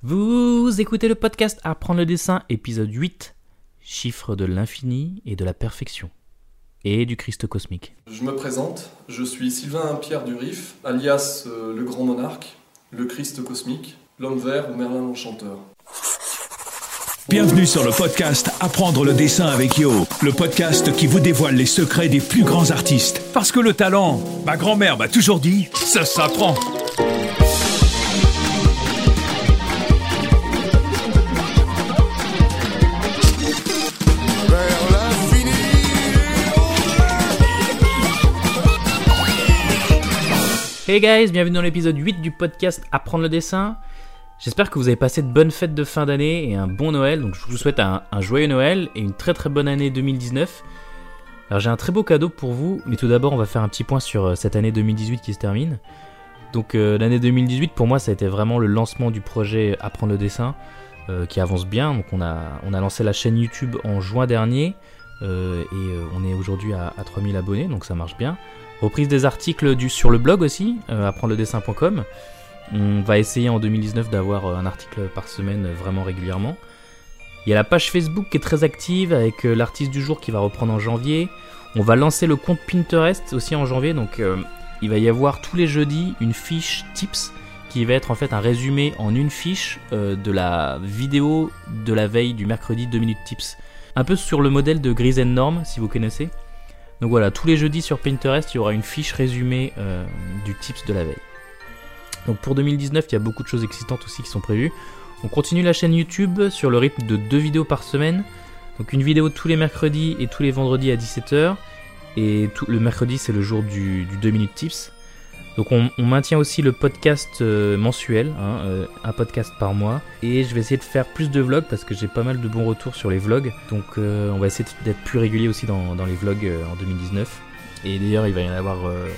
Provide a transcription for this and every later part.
Vous écoutez le podcast Apprendre le dessin, épisode 8, chiffres de l'infini et de la perfection, et du Christ cosmique. Je me présente, je suis Sylvain Pierre Durif, alias le Grand Monarque, le Christ cosmique, l'Homme vert ou Merlin l'Enchanteur. Bienvenue sur le podcast Apprendre le dessin avec Yo, le podcast qui vous dévoile les secrets des plus grands artistes. Parce que le talent, ma grand-mère m'a toujours dit, ça s'apprend. Hey guys, bienvenue dans l'épisode 8 du podcast Apprendre le dessin. J'espère que vous avez passé de bonnes fêtes de fin d'année et un bon Noël. Donc je vous souhaite un joyeux Noël et une très très bonne année 2019. Alors j'ai un très beau cadeau pour vous, mais tout d'abord on va faire un petit point sur cette année 2018 qui se termine. Donc l'année 2018 pour moi ça a été vraiment le lancement du projet Apprendre le dessin qui avance bien. Donc on a lancé la chaîne YouTube en juin dernier et on est aujourd'hui à 3000 abonnés, donc ça marche bien. Reprise des articles sur le blog aussi, apprendredessin.com. On va essayer en 2019 d'avoir un article par semaine vraiment régulièrement. Il y a la page Facebook qui est très active avec l'artiste du jour qui va reprendre en janvier. On va lancer le compte Pinterest aussi en janvier, donc il va y avoir tous les jeudis une fiche tips qui va être en fait un résumé en une fiche de la vidéo de la veille du mercredi 2 minutes tips. Un peu sur le modèle de Grise and Norm si vous connaissez. Donc voilà, tous les jeudis sur Pinterest, il y aura une fiche résumée du tips de la veille. Donc pour 2019, il y a beaucoup de choses excitantes aussi qui sont prévues. On continue la chaîne YouTube sur le rythme de 2 vidéos par semaine. Donc une vidéo tous les mercredis et tous les vendredis à 17h. Et le mercredi, c'est le jour du 2 minutes tips. Donc on maintient aussi le podcast mensuel, un podcast par mois. Et je vais essayer de faire plus de vlogs parce que j'ai pas mal de bons retours sur les vlogs. Donc on va essayer d'être plus régulier aussi dans les vlogs en 2019. Et d'ailleurs il va y avoir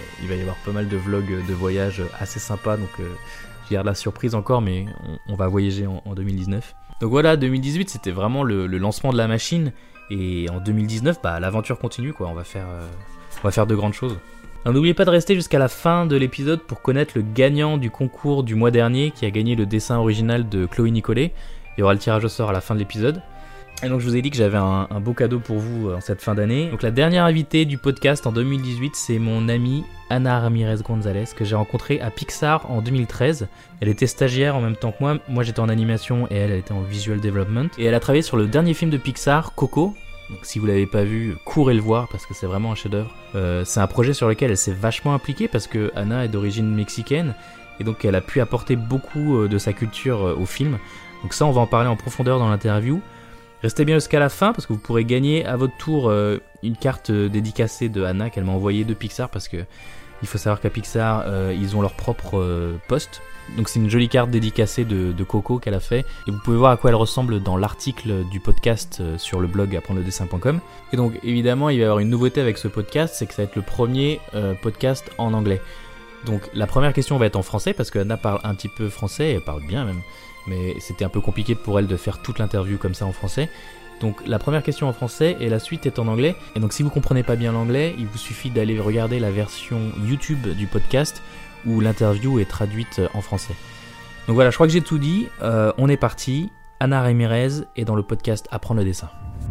pas mal de vlogs de voyage assez sympas. Donc je garde la surprise encore, mais on va voyager en 2019. Donc voilà, 2018 c'était vraiment le lancement de la machine. Et en 2019, l'aventure continue quoi. On va faire de grandes choses. Alors, n'oubliez pas de rester jusqu'à la fin de l'épisode pour connaître le gagnant du concours du mois dernier qui a gagné le dessin original de Chloé Nicolet. Il y aura le tirage au sort à la fin de l'épisode. Et donc je vous ai dit que j'avais un beau cadeau pour vous en cette fin d'année. Donc la dernière invitée du podcast en 2018, c'est mon amie Ana Ramirez Gonzalez que j'ai rencontrée à Pixar en 2013. Elle était stagiaire en même temps que moi. Moi j'étais en animation et elle était en visual development. Et elle a travaillé sur le dernier film de Pixar, Coco. Donc si vous l'avez pas vu, courez le voir parce que c'est vraiment un chef-d'œuvre. C'est un projet sur lequel elle s'est vachement impliquée parce que Anna est d'origine mexicaine et donc elle a pu apporter beaucoup de sa culture au film. Donc ça on va en parler en profondeur dans l'interview. Restez bien jusqu'à la fin parce que vous pourrez gagner à votre tour une carte dédicacée de Anna qu'elle m'a envoyée de Pixar parce que il faut savoir qu'à Pixar ils ont leur propre poste. Donc c'est une jolie carte dédicacée de Coco qu'elle a fait et vous pouvez voir à quoi elle ressemble dans l'article du podcast sur le blog apprendredessin.com. Et donc évidemment il va y avoir une nouveauté avec ce podcast, c'est que ça va être le premier podcast en anglais. Donc la première question va être en français parce que Anna parle un petit peu français, elle parle bien même, mais c'était un peu compliqué pour elle de faire toute l'interview comme ça en français. Donc la première question en français et la suite est en anglais. Et donc si vous comprenez pas bien l'anglais, il vous suffit d'aller regarder la version YouTube du podcast où l'interview est traduite en français. Donc voilà, je crois que j'ai tout dit. On est parti. Ana Ramirez est dans le podcast Apprendre le dessin.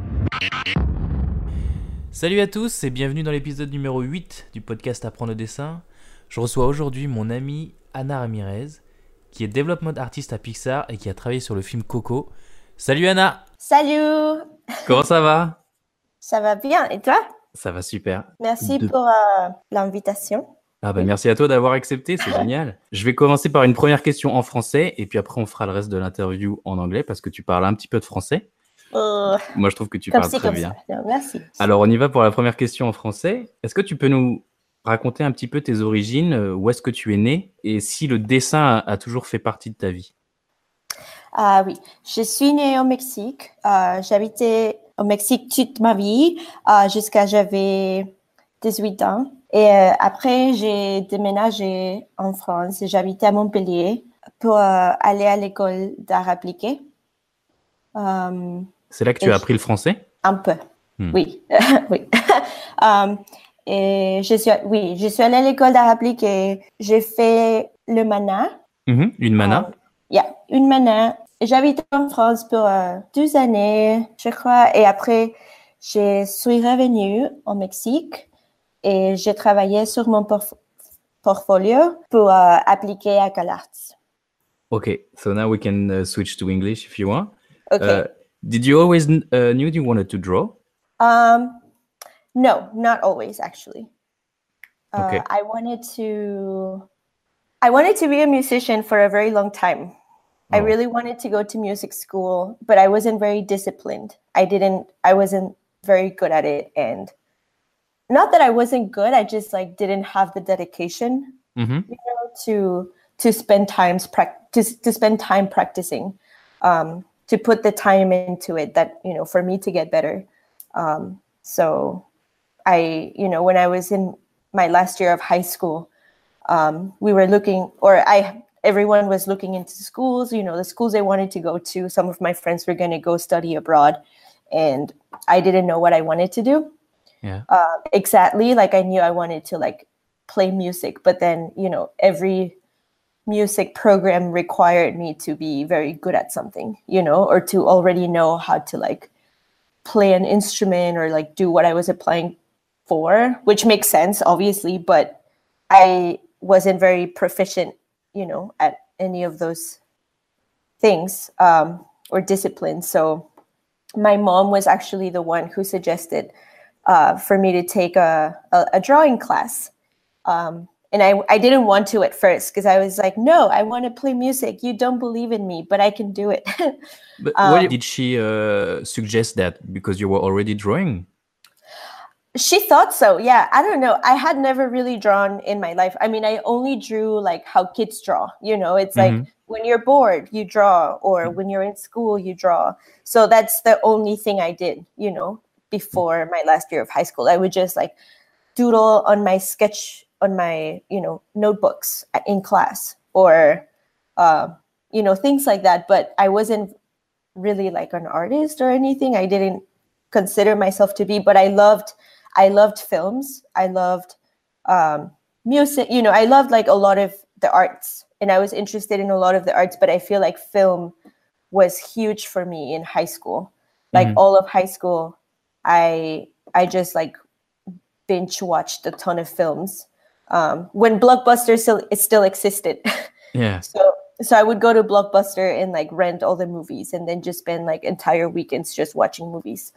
Salut à tous et bienvenue dans l'épisode numéro 8 du podcast Apprendre le dessin. Je reçois aujourd'hui mon amie Ana Ramirez, qui est development artist à Pixar et qui a travaillé sur le film Coco. Salut Anna! Salut! Comment ça va? Ça va bien, et toi? Ça va super. Merci pour l'invitation. Merci à toi d'avoir accepté, c'est génial. Je vais commencer par une première question en français et puis après on fera le reste de l'interview en anglais parce que tu parles un petit peu de français. Moi je trouve que tu parles très bien. Ça. Merci. Alors on y va pour la première question en français. Est-ce que tu peux nous raconter un petit peu tes origines, où est-ce que tu es né et si le dessin a toujours fait partie de ta vie? Oui, je suis née au Mexique. J'habitais au Mexique toute ma vie jusqu'à j'avais 18 ans. Et après, j'ai déménagé en France et j'habitais à Montpellier pour aller à l'école d'art appliqué. C'est là que tu as appris le français? Un peu, oui. Oui. Et je suis allée à l'école d'art appliqué. J'ai fait le mana. Une mana? Une mana j'habitais en France pour 2 années, je crois. Et après, je suis revenue au Mexique et j'ai travaillé sur mon portfolio pour appliquer à CalArts. Okay, so now we can switch to English if you want. Okay. Did you always knew you wanted to draw? No, not always, actually. Okay. I wanted to be a musician for a very long time. I really wanted to go to music school, but I wasn't very disciplined. I wasn't very good at it. And not that I wasn't good, I just like didn't have the dedication, to spend time practicing, to put the time into it that, for me to get better. So when I was in my last year of high school, we were everyone was looking into schools, the schools they wanted to go to. Some of my friends were going to go study abroad, and I didn't know what I wanted to do. Yeah. Exactly. Like I knew I wanted to like play music, but then, every music program required me to be very good at something, or to already know how to like play an instrument or like do what I was applying for, which makes sense, obviously, but I wasn't very proficient, at any of those things or disciplines. So my mom was actually the one who suggested for me to take a drawing class. And I didn't want to at first because I was like, no, I want to play music. You don't believe in me, but I can do it. But why did she suggest that? Because you were already drawing? She thought so. Yeah. I don't know. I had never really drawn in my life. I mean, I only drew like how kids draw, it's like when you're bored, you draw, or when you're in school, you draw. So that's the only thing I did, before my last year of high school. I would just like doodle on my notebooks in class, or, things like that. But I wasn't really like an artist or anything. I didn't consider myself to be, but I loved films. I loved music. I loved like a lot of the arts, and I was interested in a lot of the arts, but I feel like film was huge for me in high school. Like all of high school, I just like binge watched a ton of films when Blockbuster still existed. Yeah. So I would go to Blockbuster and like rent all the movies and then just spend like entire weekends just watching movies.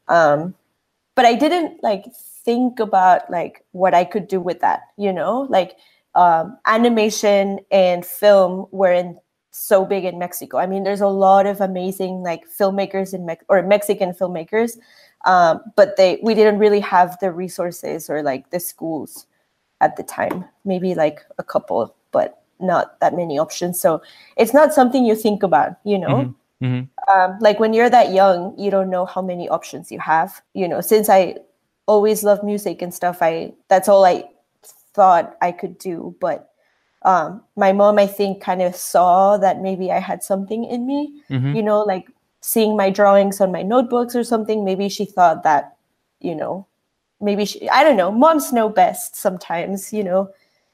But I didn't like think about like what I could do with that, like animation and film weren't so big in Mexico. I mean, there's a lot of amazing like filmmakers or Mexican filmmakers, but we didn't really have the resources or like the schools at the time. Maybe like a couple, but not that many options. So it's not something you think about, like when you're that young, you don't know how many options you have. Since I always loved music and stuff, that's all I thought I could do. But my mom, I think, kind of saw that maybe I had something in me, like seeing my drawings on my notebooks or something. Maybe she thought that, maybe I don't know. Moms know best sometimes, So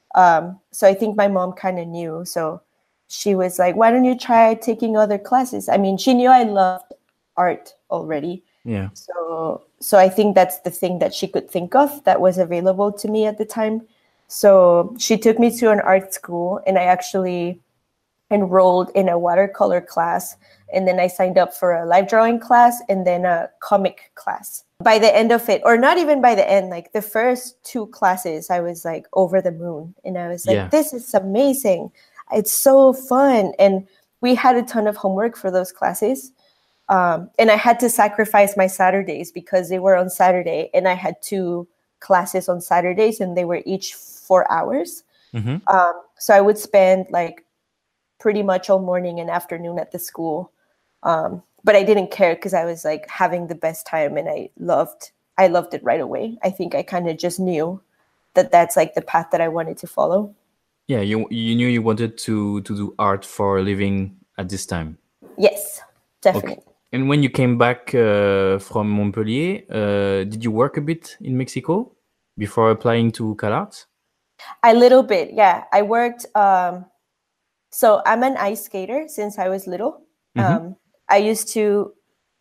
I think my mom kind of knew. So she was like, why don't you try taking other classes? I mean, she knew I loved art already. Yeah. So I think that's the thing that she could think of that was available to me at the time. So she took me to an art school, and I actually enrolled in a watercolor class. And then I signed up for a live drawing class and then a comic class. By the end of it, or not even by the end, like the first 2 classes, I was like over the moon. And I was like, This is amazing. It's so fun. And we had a ton of homework for those classes. And I had to sacrifice my Saturdays because they were on Saturday. And I had 2 classes on Saturdays, and they were each 4 hours. So I would spend like pretty much all morning and afternoon at the school. But I didn't care because I was like having the best time, and I loved it right away. I think I kind of just knew that that's like the path that I wanted to follow. Yeah, you knew you wanted to do art for a living at this time. Yes, definitely. Okay. And when you came back from Montpellier, did you work a bit in Mexico before applying to CalArts? A little bit, yeah. I worked. So I'm an ice skater since I was little. Um, I used to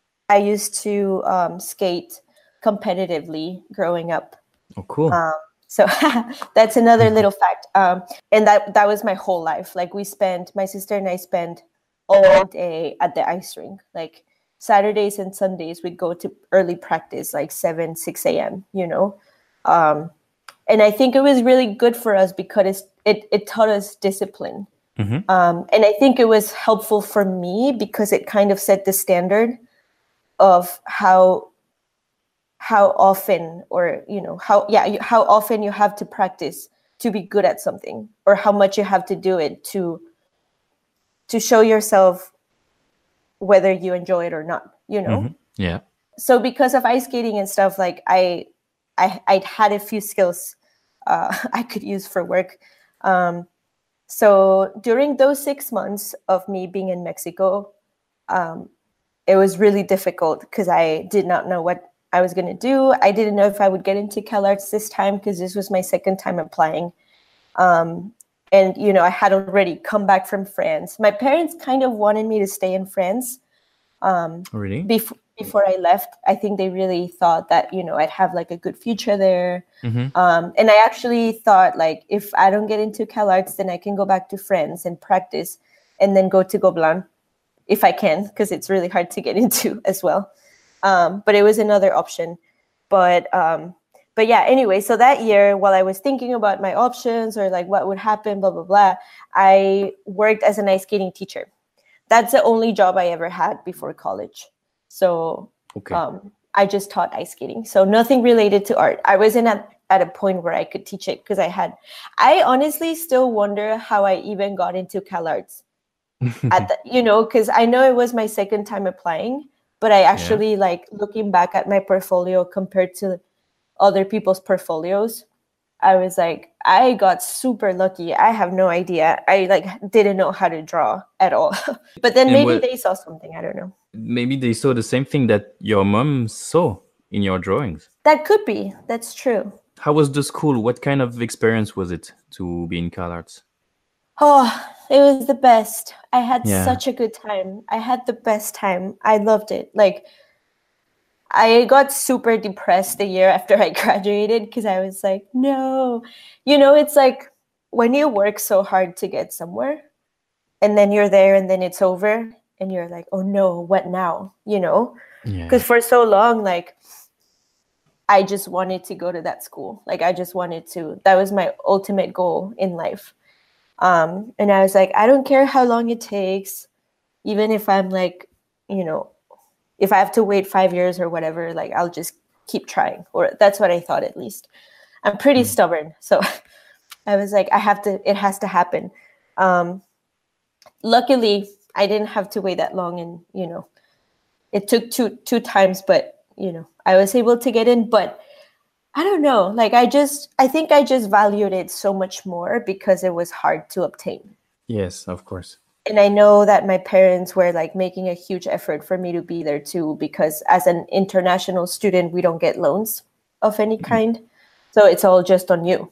skate competitively growing up. Oh, cool. So that's another little fact. And that was my whole life. Like my sister and I spent all day at the ice rink. Like Saturdays and Sundays, we'd go to early practice, like 6 a.m., And I think it was really good for us because it taught us discipline. And I think it was helpful for me because it kind of set the standard of how often, or how often you have to practice to be good at something, or how much you have to do it to show yourself whether you enjoy it or not. Yeah. So because of ice skating and stuff, like I had a few skills I could use for work. So during those 6 months of me being in Mexico, it was really difficult because I did not know what I was going to do. I didn't know if I would get into CalArts this time because this was my second time applying. And, I had already come back from France. My parents kind of wanted me to stay in France. Really? Before I left, I think they really thought that, I'd have like a good future there. And I actually thought, like, if I don't get into CalArts, then I can go back to France and practice and then go to Gobelin if I can, because it's really hard to get into as well. But it was another option. But yeah, anyway, so that year, while I was thinking about my options or like what would happen, blah, blah, blah, I worked as an ice skating teacher. That's the only job I ever had before college. So I just taught ice skating. So nothing related to art. I wasn't at a point where I could teach it because I honestly still wonder how I even got into CalArts because I know it was my second time applying, but I actually like looking back at my portfolio compared to other people's portfolios, I was like, I got super lucky. I have no idea. I didn't know how to draw at all. But then maybe they saw something. I don't know. Maybe they saw the same thing that your mom saw in your drawings. That could be. That's true. How was the school? What kind of experience was it to be in CalArts? Oh, it was the best. I had such a good time. I had the best time. I loved it. Like, I got super depressed the year after I graduated because I was like, no. It's like when you work so hard to get somewhere and then you're there and then it's over and you're like, oh no, what now? Because for so long, like, I just wanted to go to that school. Like, that was my ultimate goal in life. And I was like, I don't care how long it takes, even if I'm like, if I have to wait 5 years or whatever, like, I'll just keep trying. Or that's what I thought, at least. I'm pretty stubborn. So I was like, it has to happen. Luckily, I didn't have to wait that long. And, it took two times, but, I was able to get in. But I don't know, like, I think I just valued it so much more because it was hard to obtain. Yes, of course. And I know that my parents were like making a huge effort for me to be there too, because as an international student, we don't get loans of any kind. So it's all just on you,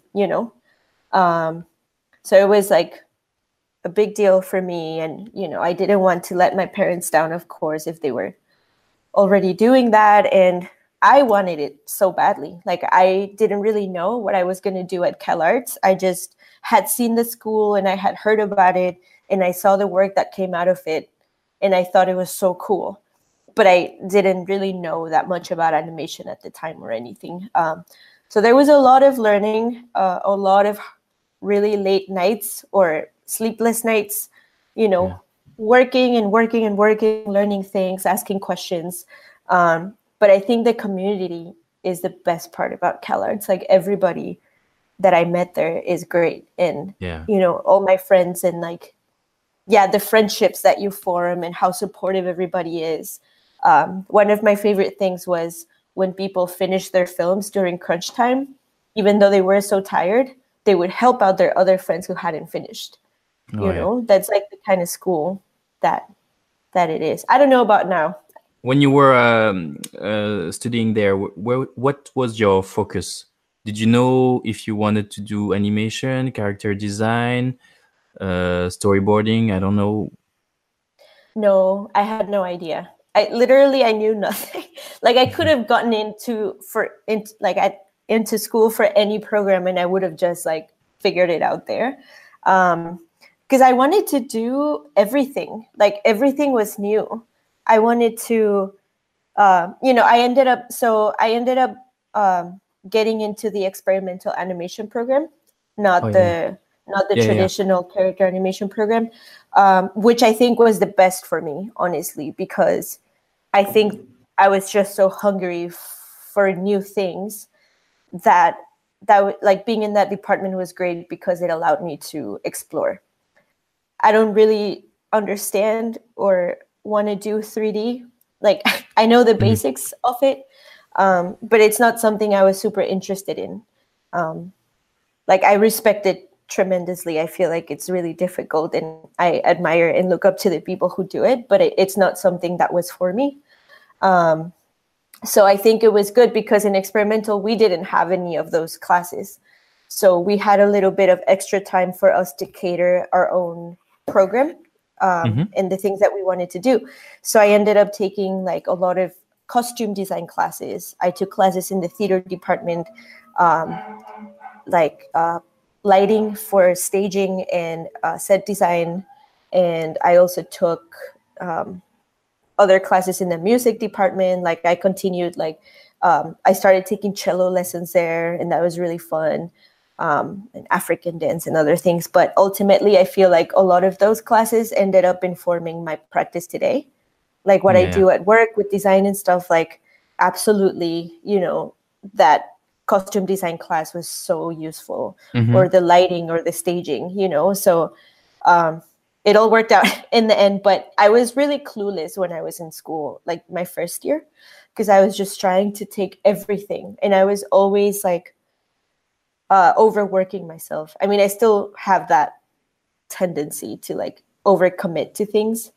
So it was like a big deal for me. And, I didn't want to let my parents down, of course, if they were already doing that. And I wanted it so badly. Like, I didn't really know what I was going to do at CalArts. I just had seen the school and I had heard about it. And I saw the work that came out of it. And I thought it was so cool. But I didn't really know that much about animation at the time or anything. So there was a lot of learning, a lot of really late nights or sleepless nights, working and working and working, learning things, asking questions. But I think the community is the best part about CalArts. Like, everybody that I met there is great. And, all my friends and like, the friendships that you form and how supportive everybody is. One of my favorite things was when people finished their films during crunch time, even though they were so tired, they would help out their other friends who hadn't finished. That's like the kind of school that it is. I don't know about now. When you were studying there, what was your focus? Did you know if you wanted to do animation, character design, storyboarding? I don't know. No, I had no idea. I knew nothing. Like I could have gotten into school for any program, and I would have just like figured it out there. Because I wanted to do everything. Like everything was new. I wanted to, I ended up getting into the experimental animation program, not the traditional character animation program, which I think was the best for me, honestly, because I think I was just so hungry for new things that like being in that department was great because it allowed me to explore. I don't really understand or want to do 3D. Like I know the basics of it, but it's not something I was super interested in. Like I respect it tremendously. I feel like it's really difficult, and I admire and look up to the people who do it, but it's not something that was for me. So I think it was good because in experimental, we didn't have any of those classes. So we had a little bit of extra time for us to cater our own program and the things that we wanted to do. So I ended up taking like a lot of costume design classes. I took classes in the theater department, lighting for staging and set design. And I also took other classes in the music department. Like I continued, I started taking cello lessons there, and that was really fun. And African dance and other things. But ultimately, I feel like a lot of those classes ended up informing my practice today. Like what I do at work with design and stuff, like absolutely, that costume design class was so useful, or the lighting or the staging, so it all worked out in the end. But I was really clueless when I was in school, like my first year, because I was just trying to take everything. And I was always like overworking myself. I mean, I still have that tendency to like overcommit to things.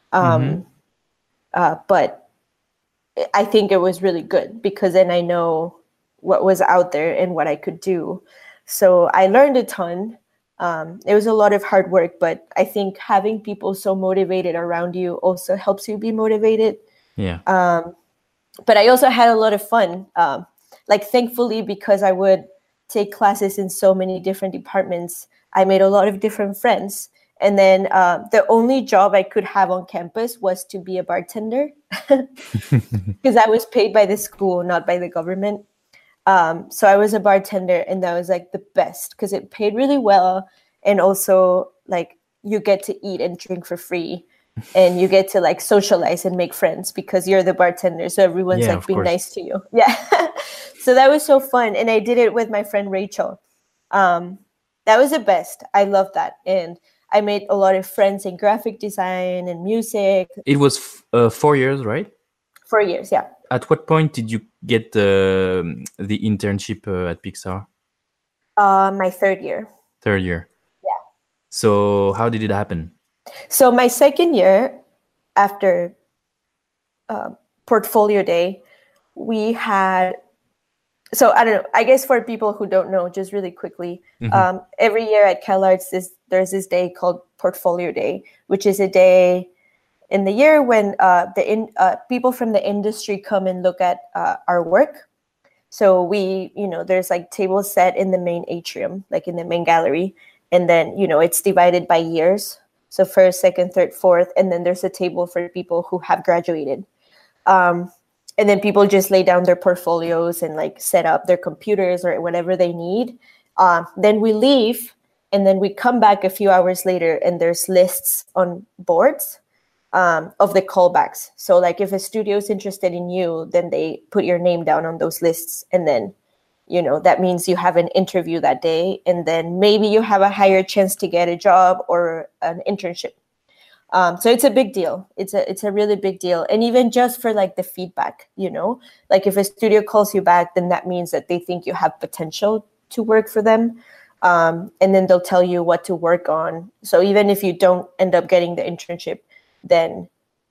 But I think it was really good because then I know what was out there and what I could do. So I learned a ton. It was a lot of hard work, but I think having people so motivated around you also helps you be motivated. Yeah. But I also had a lot of fun. Like thankfully, because I would take classes in so many different departments, I made a lot of different friends. And then the only job I could have on campus was to be a bartender because I was paid by the school, not by the government. So I was a bartender, and that was like the best because it paid really well. And also like you get to eat and drink for free, and you get to like socialize and make friends because you're the bartender. So everyone's like being nice to you. Yeah. So that was so fun. And I did it with my friend Rachel. That was the best. I love that. And I made a lot of friends in graphic design and music. It was 4 years, right? 4 years, yeah. At what point did you get the internship at Pixar? My third year. Third year. Yeah. So how did it happen? So my second year, after portfolio day, we had... So I don't know, I guess for people who don't know, just really quickly, every year at CalArts, there's this day called Portfolio Day, which is a day in the year when people from the industry come and look at our work. So there's like tables set in the main atrium, like in the main gallery. And then, it's divided by years. So first, second, third, fourth. And then there's a table for people who have graduated. And then people just lay down their portfolios and like set up their computers or whatever they need. Then we leave, and then we come back a few hours later, and there's lists on boards of the callbacks. So like if a studio is interested in you, then they put your name down on those lists. And then, that means you have an interview that day. And then maybe you have a higher chance to get a job or an internship. So it's a big deal. It's a really big deal. And even just for like the feedback, like if a studio calls you back, then that means that they think you have potential to work for them. And then they'll tell you what to work on. So even if you don't end up getting the internship, then,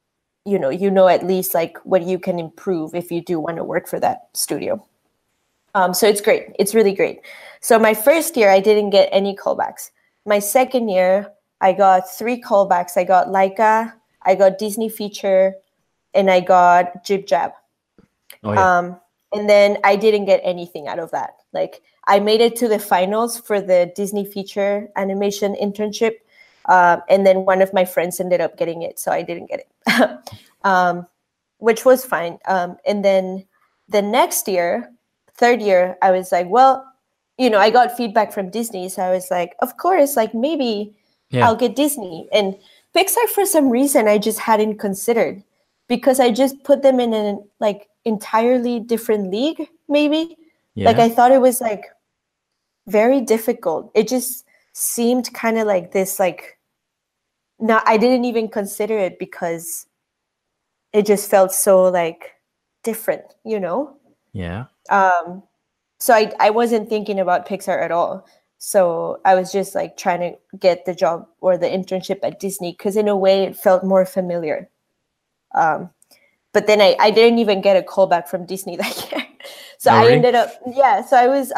at least like what you can improve if you do want to work for that studio. So it's great. It's really great. So my first year, I didn't get any callbacks. My second year, I got 3 callbacks. I got Laika, I got Disney feature, and I got Jib Jab. Oh, yeah. And then I didn't get anything out of that. Like, I made it to the finals for the Disney feature animation internship. And then one of my friends ended up getting it, so I didn't get it, which was fine. And then the next year, third year, I was like, well, I got feedback from Disney. So I was like, of course, like maybe I'll get Disney. And Pixar, for some reason, I just hadn't considered, because I just put them in an like entirely different league, maybe. Yeah. Like, I thought it was like very difficult. It just seemed kind of like this, like, no, I didn't even consider it because it just felt so like different, Yeah. So I wasn't thinking about Pixar at all. So I was just like trying to get the job or the internship at Disney, because in a way it felt more familiar. But then I didn't even get a call back from Disney that year. So I ended up, so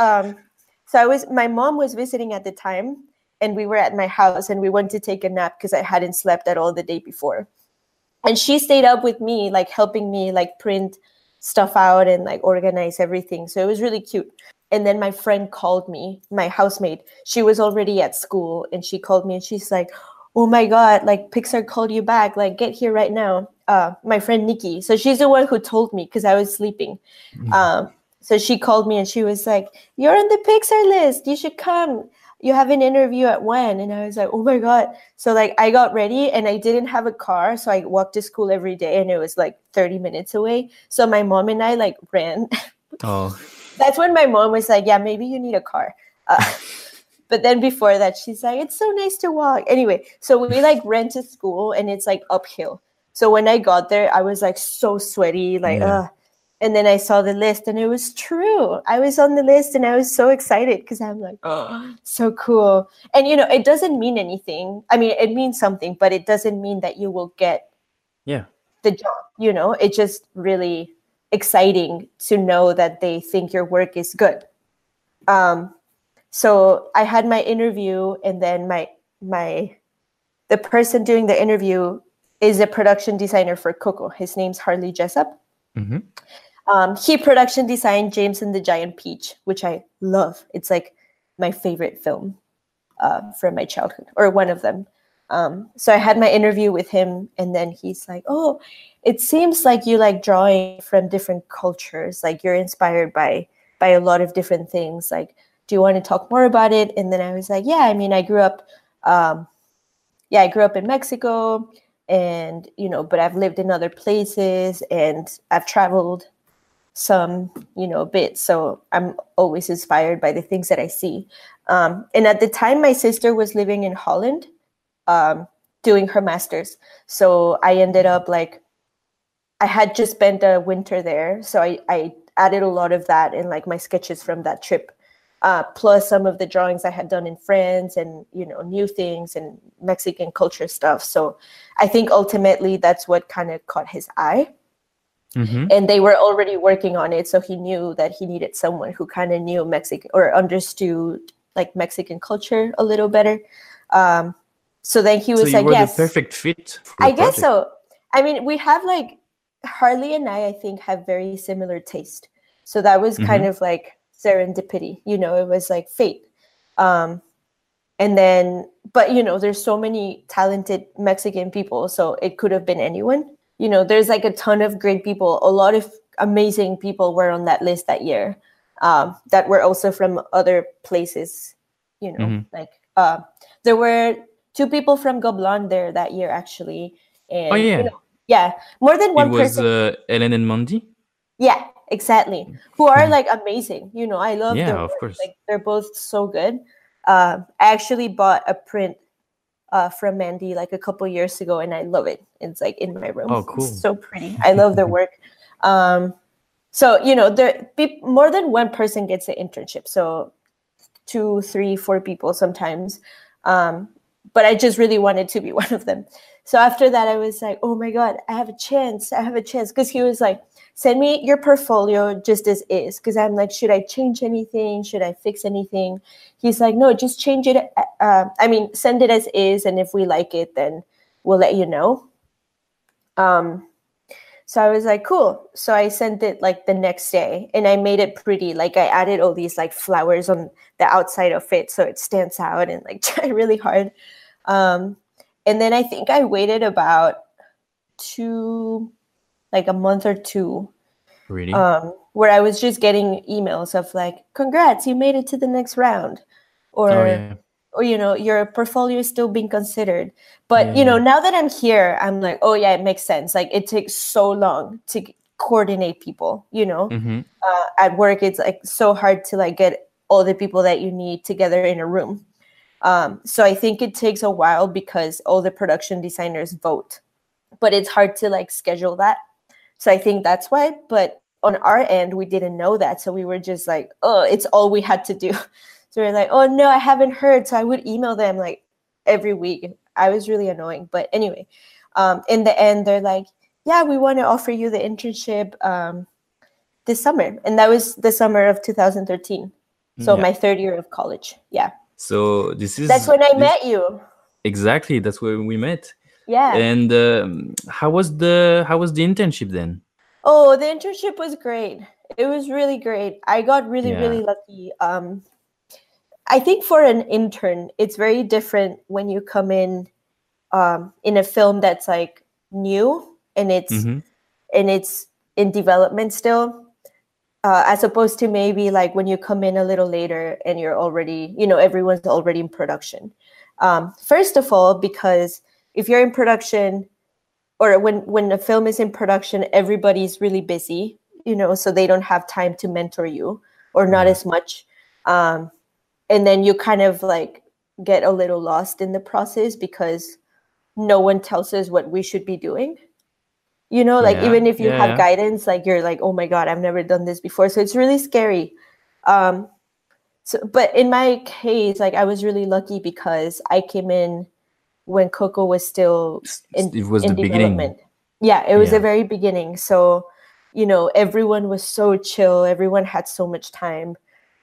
I was, my mom was visiting at the time, and we were at my house, and we went to take a nap because I hadn't slept at all the day before. And she stayed up with me, like helping me like print stuff out and like organize everything. So it was really cute. And then my friend called me, my housemate. She was already at school, and she called me, and she's like, oh my God, like Pixar called you back, like get here right now. My friend Nikki. So she's the one who told me, because I was sleeping. So she called me, and she was like, you're on the Pixar list. You should come. You have an interview at 1. And I was like, oh my God. So like I got ready, and I didn't have a car. So I walked to school every day, and it was like 30 minutes away. So my mom and I like ran. Oh. That's when my mom was like, yeah, maybe you need a car. But then before that, she's like, it's so nice to walk. Anyway, so we like ran to school, and it's like uphill. So when I got there, I was like so sweaty, like, and then I saw the list, and it was true. I was on the list, and I was so excited, because I'm like, oh, so cool. And, it doesn't mean anything. I mean, it means something, but it doesn't mean that you will get the job, It's just really exciting to know that they think your work is good. So I had my interview, and then the person doing the interview is a production designer for Coco. His name's Harley Jessup. Mm-hmm. He production designed James and the Giant Peach, which I love. It's like my favorite film from my childhood, or one of them. So I had my interview with him, and then he's like, oh, it seems like you like drawing from different cultures. Like you're inspired by a lot of different things. Like, do you want to talk more about it? And then I was like, yeah, I mean, I grew up in Mexico, and, but I've lived in other places, and I've traveled some, a bit. So I'm always inspired by the things that I see. And at the time, my sister was living in Holland, doing her master's. So I ended up like, I had just spent a winter there. So I added a lot of that in like my sketches from that trip. Plus some of the drawings I had done in France, and, new things and Mexican culture stuff. So I think ultimately that's what kind of caught his eye. Mm-hmm. And they were already working on it. So he knew that he needed someone who kind of knew Mexican or understood like Mexican culture a little better. So then he was like, yes. The perfect fit for the I guess project. so. I mean, we have like, Harley and I think, have very similar taste. So that was kind of like serendipity, it was like fate. And then, but there's so many talented Mexican people, so it could have been anyone. There's like a ton of great people. A lot of amazing people were on that list that year, that were also from other places. Like there were 2 people from Gobelin there that year, actually. And more than one person. It was Ellen and Mandy. Yeah, exactly. Who are like amazing. I love their of work. course. Like they're both so good. I actually bought a print from Mandy like a couple years ago, and I love it. It's like in my room. Oh, cool. It's so pretty. I love their work. So there more than one person gets an internship. So 2, 3, 4 people sometimes. But I just really wanted to be one of them. So after that, I was like, oh my God, I have a chance. Because he was like, send me your portfolio just as is. Because I'm like, should I change anything? Should I fix anything? He's like, no, just change it. Send it as is. And if we like it, then we'll let you know. So I was like, cool. So I sent it like the next day, and I made it pretty. Like I added all these like flowers on the outside of it so it stands out, and like tried really hard. And then I think I waited about a month or two, Really? where I was just getting emails of like, congrats, you made it to the next round. Or, Oh, yeah. or your portfolio is still being considered. But, Yeah. now that I'm here, I'm like, oh yeah, it makes sense. Like it takes so long to coordinate people, Mm-hmm. At work, it's like so hard to like get all the people that you need together in a room. So I think it takes a while because all the production designers vote, but it's hard to like schedule that. So I think that's why. But on our end, we didn't know that. So we were just like, oh, it's all we had to do. So we're like, oh no, I haven't heard. So I would email them like every week. I was really annoying. But anyway, in the end, they're like, yeah, we want to offer you the internship this summer. And that was the summer of 2013. So Yeah. my third year of college. Yeah. So That's when I met you. Exactly. That's where we met. Yeah. And how was the internship then? Oh, the internship was great. It was really great. I got really, Yeah. really lucky. I think for an intern, it's very different when you come in a film that's like new and it's Mhm. in development still, as opposed to maybe like when you come in a little later and you're already, everyone's already in production. First of all, because if you're in production, or when a film is in production, everybody's really busy, so they don't have time to mentor you, or not Yeah. as much. And then you kind of like get a little lost in the process because no one tells us what we should be doing. Like Yeah, even if you yeah, have yeah. guidance, like you're like, oh my God, I've never done this before. So it's really scary. But in my case, like I was really lucky because I came in when Coco was still It was in the beginning. development. Yeah, it was Yeah. the very beginning. So, everyone was so chill. Everyone had so much time.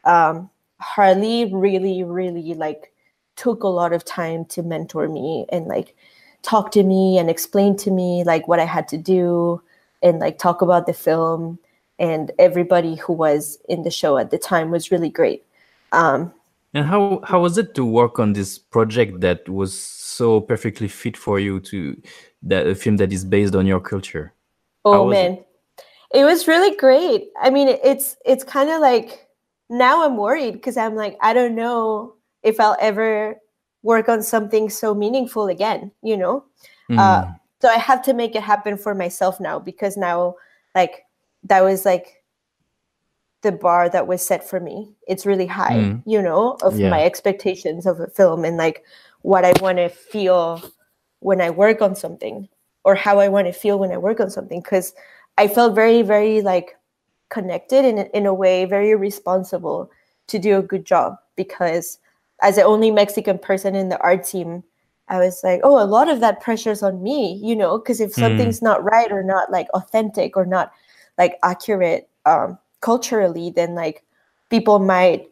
Harley really, really like took a lot of time to mentor me and like talk to me and explain to me like what I had to do and like talk about the film. And everybody who was in the show at the time was really great. And how was it to work on this project that was so perfectly fit for you, a film that is based on your culture? How Oh was it? man, it was really great. I mean, it's kind of like now I'm worried because I'm like, I don't know if I'll ever work on something so meaningful again, Mm. So I have to make it happen for myself now because now like that was like the bar that was set for me. It's really high, of Yeah. my expectations of a film and like what I want to feel when I work on something or how I want to feel when I work on something. Because I felt very, very like connected in a way, very responsible to do a good job. Because as the only Mexican person in the art team, I was like, oh, a lot of that pressure's on me, because if something's not right or not like authentic or not like accurate culturally, then like people might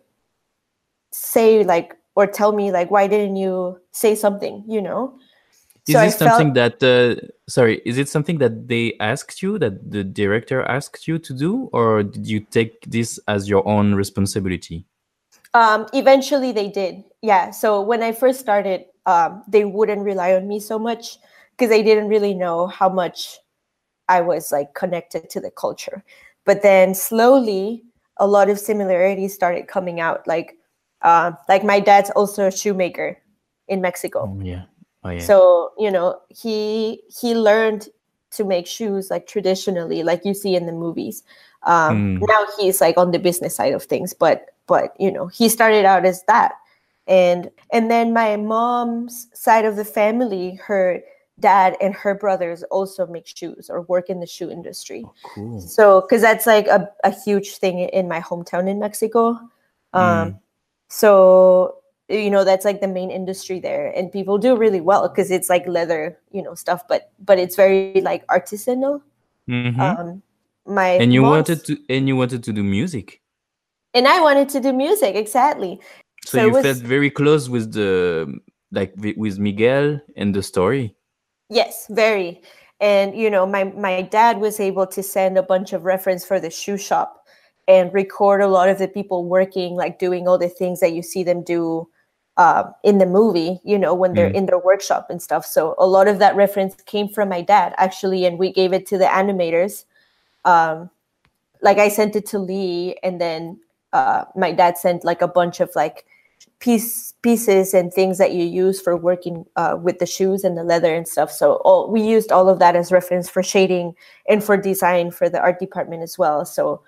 say like or tell me like, why didn't you say something, Is So I this something felt that is it something that they asked you, that the director asked you to do, or did you take this as your own responsibility? eventually they did. Yeah. So when I first started, they wouldn't rely on me so much because they didn't really know how much I was like connected to the culture. But then slowly a lot of similarities started coming out. Like my dad's also a shoemaker in Mexico. Yeah. Oh yeah. So, he learned to make shoes like traditionally, like you see in the movies. Now he's like on the business side of things, but he started out as that. And then my mom's side of the family, her dad and her brothers also make shoes or work in the shoe industry. Oh, cool. So, because that's like a huge thing in my hometown in Mexico. So, that's like the main industry there, and people do really well because it's like leather, stuff, but it's very like artisanal. Mhm. My And you mom's- wanted to do music. and I wanted to do music, exactly. So it you was- felt very close with with Miguel and the story. Yes, very. And, my dad was able to send a bunch of reference for the shoe shop and record a lot of the people working, like doing all the things that you see them do in the movie, when they're in their workshop and stuff. So a lot of that reference came from my dad, actually, and we gave it to the animators. Like I sent it to Lee, and then my dad sent like a bunch of like pieces and things that you use for working with the shoes and the leather and stuff. So we used all of that as reference for shading and for design for the art department as well. So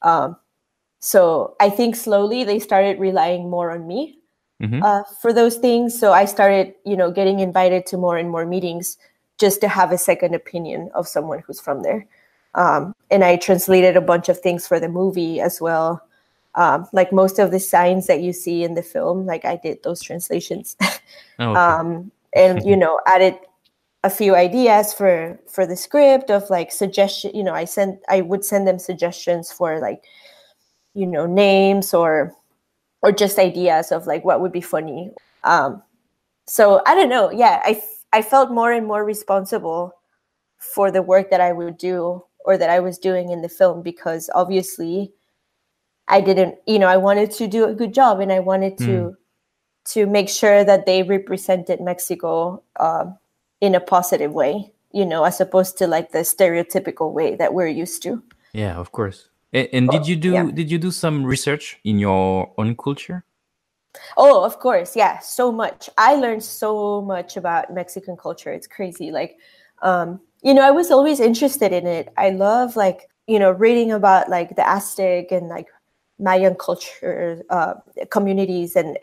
I think slowly they started relying more on me for those things. So I started, getting invited to more and more meetings just to have a second opinion of someone who's from there. And I translated a bunch of things for the movie as well. Like most of the signs that you see in the film, like I did those translations. And, added a few ideas for the script of like suggestion. I would send them suggestions for like, names or just ideas of like what would be funny. So I don't know. Yeah, I felt more and more responsible for the work that I would do or that I was doing in the film, because obviously I didn't, I wanted to do a good job, and I wanted to make sure that they represented Mexico in a positive way, as opposed to like the stereotypical way that we're used to. Yeah, of course. And did you do some research in your own culture? Oh, of course. Yeah. So much. I learned so much about Mexican culture. It's crazy. Like, I was always interested in it. I love like, reading about like the Aztec and like Mayan culture, communities and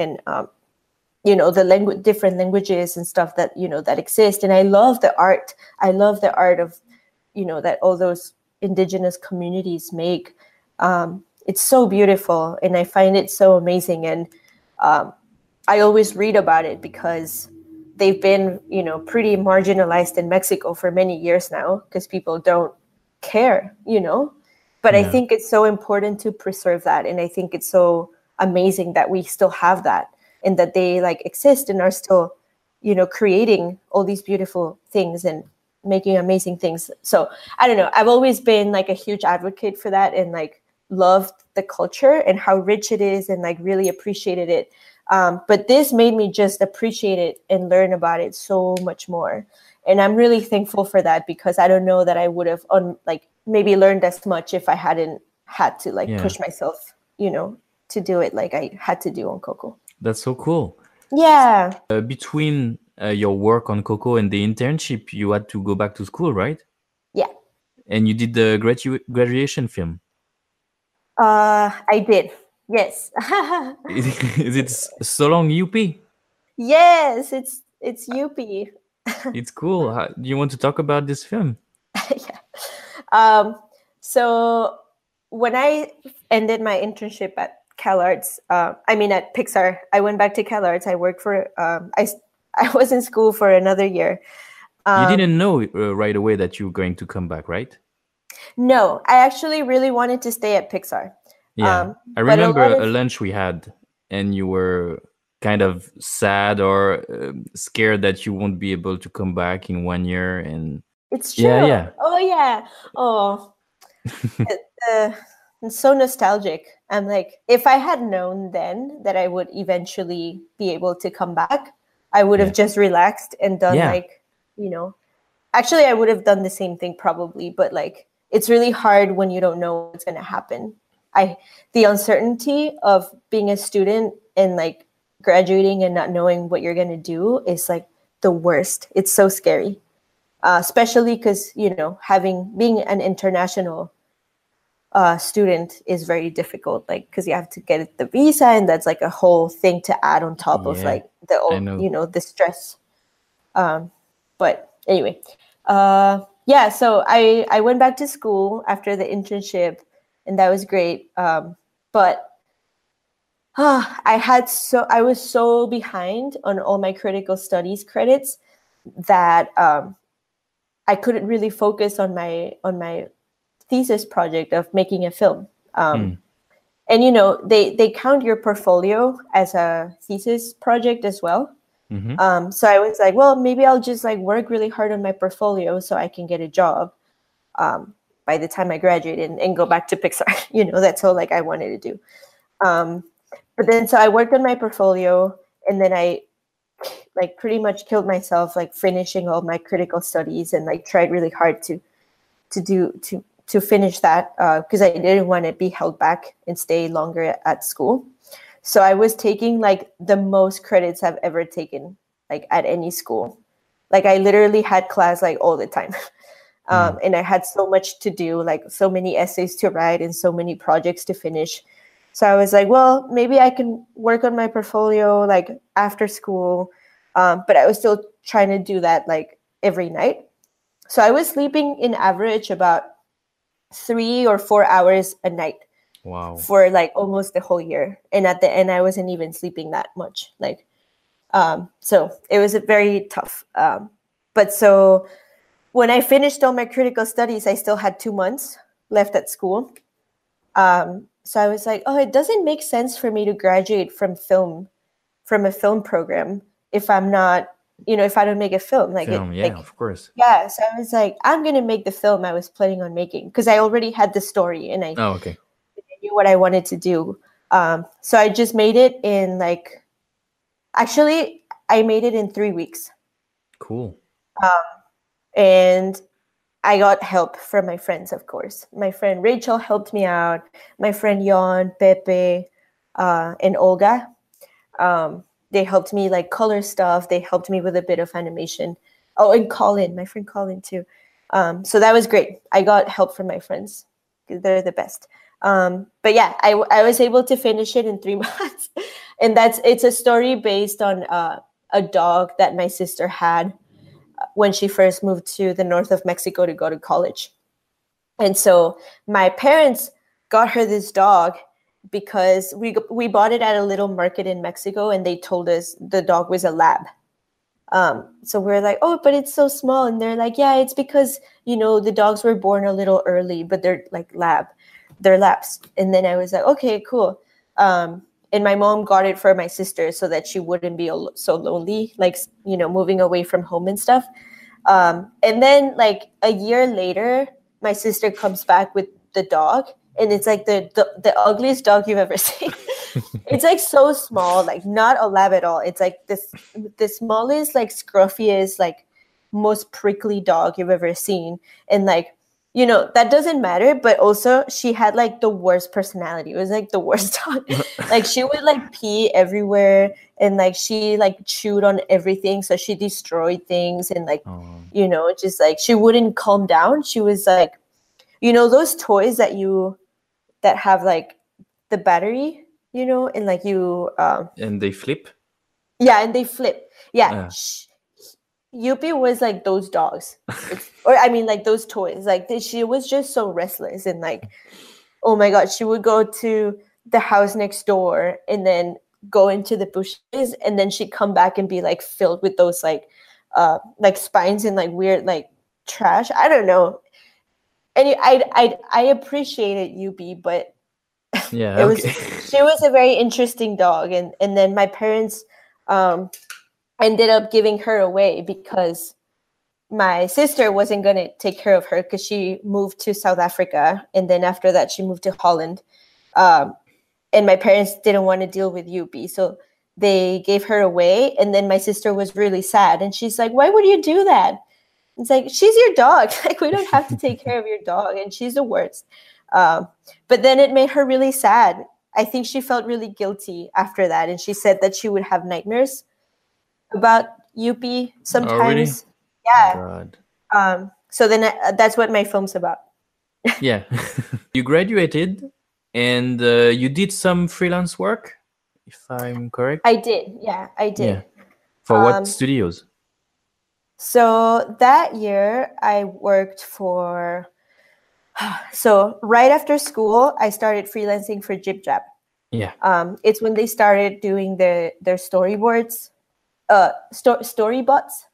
the different languages and stuff that, that exist. And I love the art. I love the art of, that all those indigenous communities make. It's so beautiful, and I find it so amazing. And I always read about it because they've been, pretty marginalized in Mexico for many years now, because people don't care, But I think it's so important to preserve that. And I think it's so amazing that we still have that, and that they like exist and are still, creating all these beautiful things and making amazing things. So I don't know. I've always been like a huge advocate for that, and like loved the culture and how rich it is, and like really appreciated it. But this made me just appreciate it and learn about it so much more. And I'm really thankful for that, because I don't know that I would have maybe learned as much if I hadn't had to push myself, to do it like I had to do on Coco. That's so cool. Yeah. Between your work on Coco and the internship, you had to go back to school, right? Yeah. And you did the graduation film. I did. Yes. Is it So Long UP? Yes, it's UP. It's cool. Do you want to talk about this film? Yeah. So when I ended my internship at CalArts, at Pixar, I went back to CalArts. I worked for, I was in school for another year. You didn't know right away that you were going to come back, right? No, I actually really wanted to stay at Pixar. Yeah, I remember a lunch we had, and you were kind of sad or scared that you won't be able to come back in 1 year. And it's true. Yeah. Oh yeah. Oh, it's so nostalgic. I'm like, if I had known then that I would eventually be able to come back, I would have just relaxed and done actually I would have done the same thing probably, but like it's really hard when you don't know what's going to happen. The uncertainty of being a student and like graduating and not knowing what you're going to do is like the worst. It's so scary, especially because, being an international student is very difficult, like because you have to get the visa, and that's like a whole thing to add on top of like the stress. But anyway, so I went back to school after the internship, and that was great. But I was so behind on all my critical studies credits that I couldn't really focus on my thesis project of making a film. And they count your portfolio as a thesis project as well. So I was like, well, maybe I'll just like work really hard on my portfolio so I can get a job by the time I graduate and go back to Pixar. That's all like I wanted to do. But then so I worked on my portfolio, and then I like pretty much killed myself like finishing all my critical studies, and like tried really hard to finish that because I didn't want to be held back and stay longer at school. So I was taking like the most credits I've ever taken like at any school. Like I literally had class like all the time. And I had so much to do, like so many essays to write and so many projects to finish. So I was like, well, maybe I can work on my portfolio like after school. But I was still trying to do that like every night. So I was sleeping in average about 3 or 4 hours a night. Wow. For like almost the whole year. And at the end, I wasn't even sleeping that much. Like, so it was very tough. But so when I finished all my critical studies, I still had 2 months left at school. So I was like, oh, it doesn't make sense for me to graduate from a film program if I'm not, if I don't make a film. Like, of course. Yeah. So I was like, I'm going to make the film I was planning on making because I already had the story and I knew what I wanted to do. So I just made it in I made it in 3 weeks. Cool. And I got help from my friends, of course. My friend Rachel helped me out. My friend Jan, Pepe, and Olga. They helped me like color stuff. They helped me with a bit of animation. Oh, and Colin, my friend Colin too. So that was great. I got help from my friends. They're the best. But yeah, I was able to finish it in 3 months. And it's a story based on a dog that my sister had when she first moved to the north of Mexico to go to college. And so my parents got her this dog because we bought it at a little market in Mexico, and they told us the dog was a lab. So we're like, oh, but it's so small. And they're like, yeah, it's because, the dogs were born a little early, but they're like they're labs. And then I was like, okay, cool. And my mom got it for my sister so that she wouldn't be so lonely, like, moving away from home and stuff. And then like a year later, my sister comes back with the dog, and it's like the ugliest dog you've ever seen. It's like so small, like not a lab at all. It's like the smallest, like scruffiest, like most prickly dog you've ever seen. And like, that doesn't matter, but also she had like the worst personality. It was like the worst dog. Like she would like pee everywhere, and like she like chewed on everything. So she destroyed things, and like, just like she wouldn't calm down. She was like, those toys that have like the battery, and like and they flip. Yeah, and they flip. Yeah. Yuppie was like those dogs, or I mean like those toys. Like she was just so restless, and like, oh my god, she would go to the house next door and then go into the bushes, and then she'd come back and be like filled with those like spines and like weird like trash. I don't know. And I appreciated Yuppie, but yeah, she was a very interesting dog, and then my parents ended up giving her away because my sister wasn't going to take care of her because she moved to South Africa, and then after that she moved to Holland, and my parents didn't want to deal with Yuppie, so they gave her away. And then my sister was really sad, and she's like, why would you do that? It's like, she's your dog. Like, we don't have to take care of your dog, and she's the worst. But then it made her really sad. I think she felt really guilty after that, and she said that she would have nightmares about Yuppie sometimes. Oh, really? Yeah. God. So then that's what my film's about. Yeah. You graduated, and you did some freelance work, if I'm correct. I did. Yeah, I did. Yeah. For what studios? So that year I worked for, so right after school, I started freelancing for Jib Jab. Yeah. It's when they started doing their storyboards, Storybots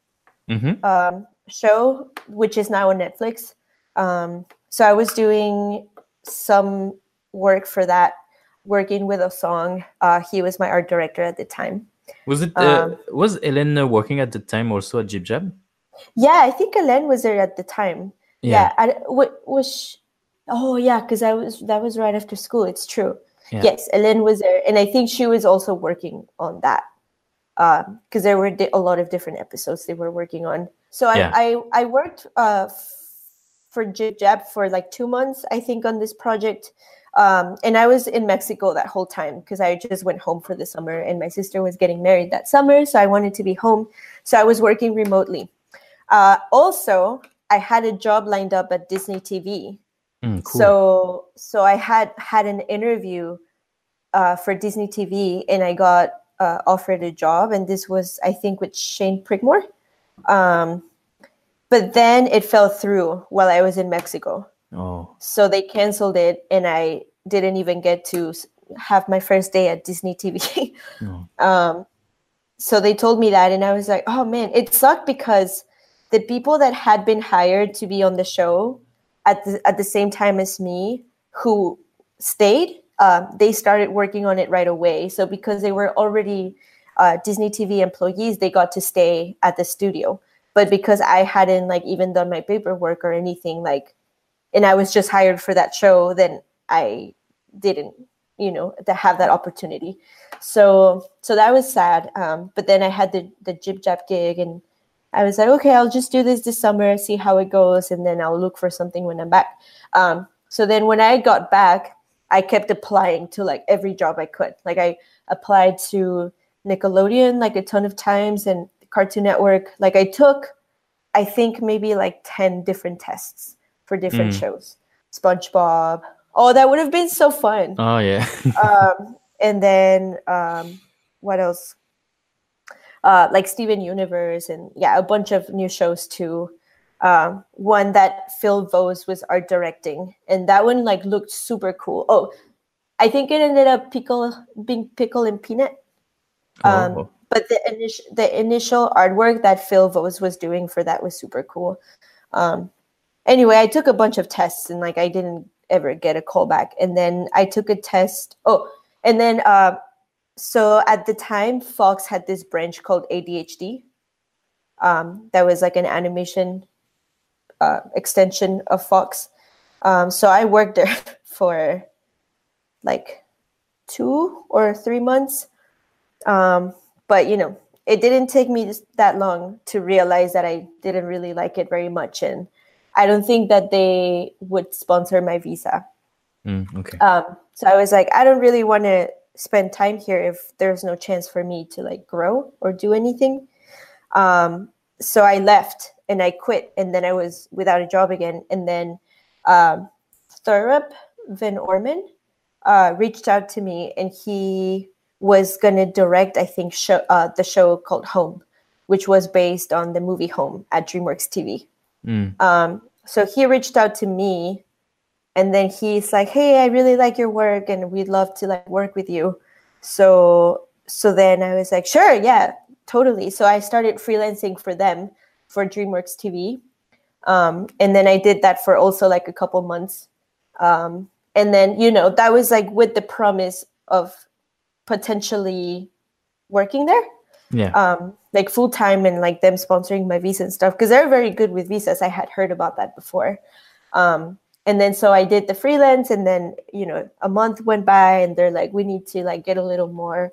show, which is now on Netflix. So I was doing some work for that, working with a song. He was my art director at the time. Was it was Ellen working at the time also at Jib Jab? Yeah, I think Ellen was there at the time. Yeah. Oh yeah, because that was right after school. It's true. Yeah. Yes, Ellen was there, and I think she was also working on that because there were a lot of different episodes they were working on. So I worked for Jib Jab for like 2 months, I think, on this project. And I was in Mexico that whole time because I just went home for the summer, and my sister was getting married that summer, so I wanted to be home. So I was working remotely. Also, I had a job lined up at Disney TV. Cool. So I had an interview for Disney TV, and I got offered a job, and this was, I think, with Shane Prigmore. But then it fell through while I was in Mexico. Oh. So they canceled it, and I didn't even get to have my first day at Disney TV. No. So they told me that, and I was like, oh man, it sucked because the people that had been hired to be on the show at the same time as me, who stayed, they started working on it right away. So because they were already Disney TV employees, they got to stay at the studio. But because I hadn't like even done my paperwork or anything, like, and I was just hired for that show, then I didn't, to have that opportunity. So that was sad. But then I had the Jib Jab gig, and I was like, okay, I'll just do this summer, see how it goes, and then I'll look for something when I'm back. So then when I got back, I kept applying to like every job I could. Like I applied to Nickelodeon like a ton of times, and Cartoon Network. Like I took, I think maybe like 10 different tests for different shows. SpongeBob. Oh, that would have been so fun. Oh yeah. And then what else? Like Steven Universe, and a bunch of new shows too. One that Phil Vose was art directing, and that one like looked super cool. Oh, I think it ended up being Pickle and Peanut. But the initial artwork that Phil Vose was doing for that was super cool. Anyway, I took a bunch of tests, and like I didn't ever get a call back. And then I took a test. Oh, and then so at the time, Fox had this branch called ADHD. That was like an animation extension of Fox. So I worked there for like 2 or 3 months. But, it didn't take me that long to realize that I didn't really like it very much. And I don't think that they would sponsor my visa. Okay. So I was like, I don't really want to spend time here if there's no chance for me to like grow or do anything. So I left and I quit, and then I was without a job again. And then Thorup Van Orman reached out to me, and he was going to direct, I think, the show called Home, which was based on the movie Home at DreamWorks TV. So he reached out to me, and then he's like, hey, I really like your work, and we'd love to like work with you. So then I was like, sure, yeah, totally. So I started freelancing for them for DreamWorks TV. And then I did that for also like a couple months. And then, that was like with the promise of potentially working there. Yeah. Like full time, and like them sponsoring my visa and stuff, because they're very good with visas. I had heard about that before. And then so I did the freelance, and then, a month went by, and they're like, we need to like get a little more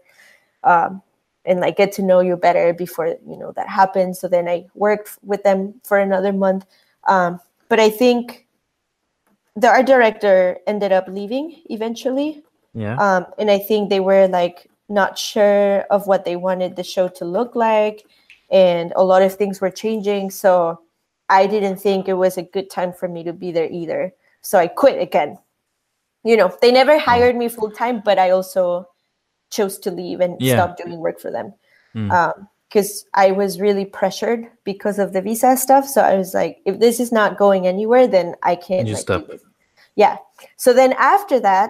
and like get to know you better before, that happens. So then I worked with them for another month. But I think the art director ended up leaving eventually. Yeah. And I think they were like not sure of what they wanted the show to look like, and a lot of things were changing. So I didn't think it was a good time for me to be there either. So I quit again. They never hired me full time, but I also chose to leave and stop doing work for them. Because I was really pressured because of the visa stuff. So I was like, if this is not going anywhere, then I can't do this. Yeah. So then after that,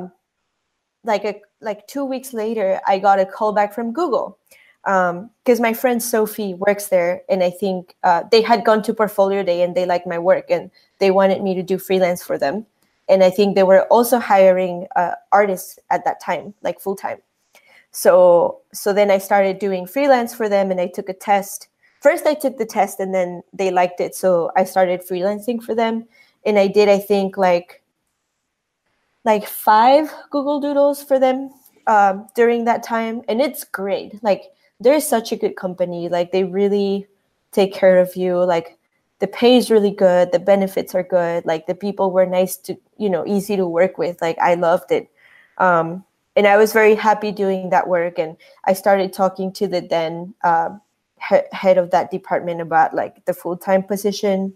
like 2 weeks later, I got a call back from Google, because my friend Sophie works there, and I think they had gone to Portfolio Day, and they liked my work, and they wanted me to do freelance for them. And I think they were also hiring artists at that time, like full time. So then I started doing freelance for them, and I took a test. First, I took the test, and then they liked it, so I started freelancing for them. And I did, I think, like 5 Google Doodles for them during that time, and it's great. Like, they're such a good company. Like, they really take care of you. Like, the pay is really good. The benefits are good. Like, the people were nice to, easy to work with. Like, I loved it. And I was very happy doing that work. And I started talking to the then head of that department about like the full-time position.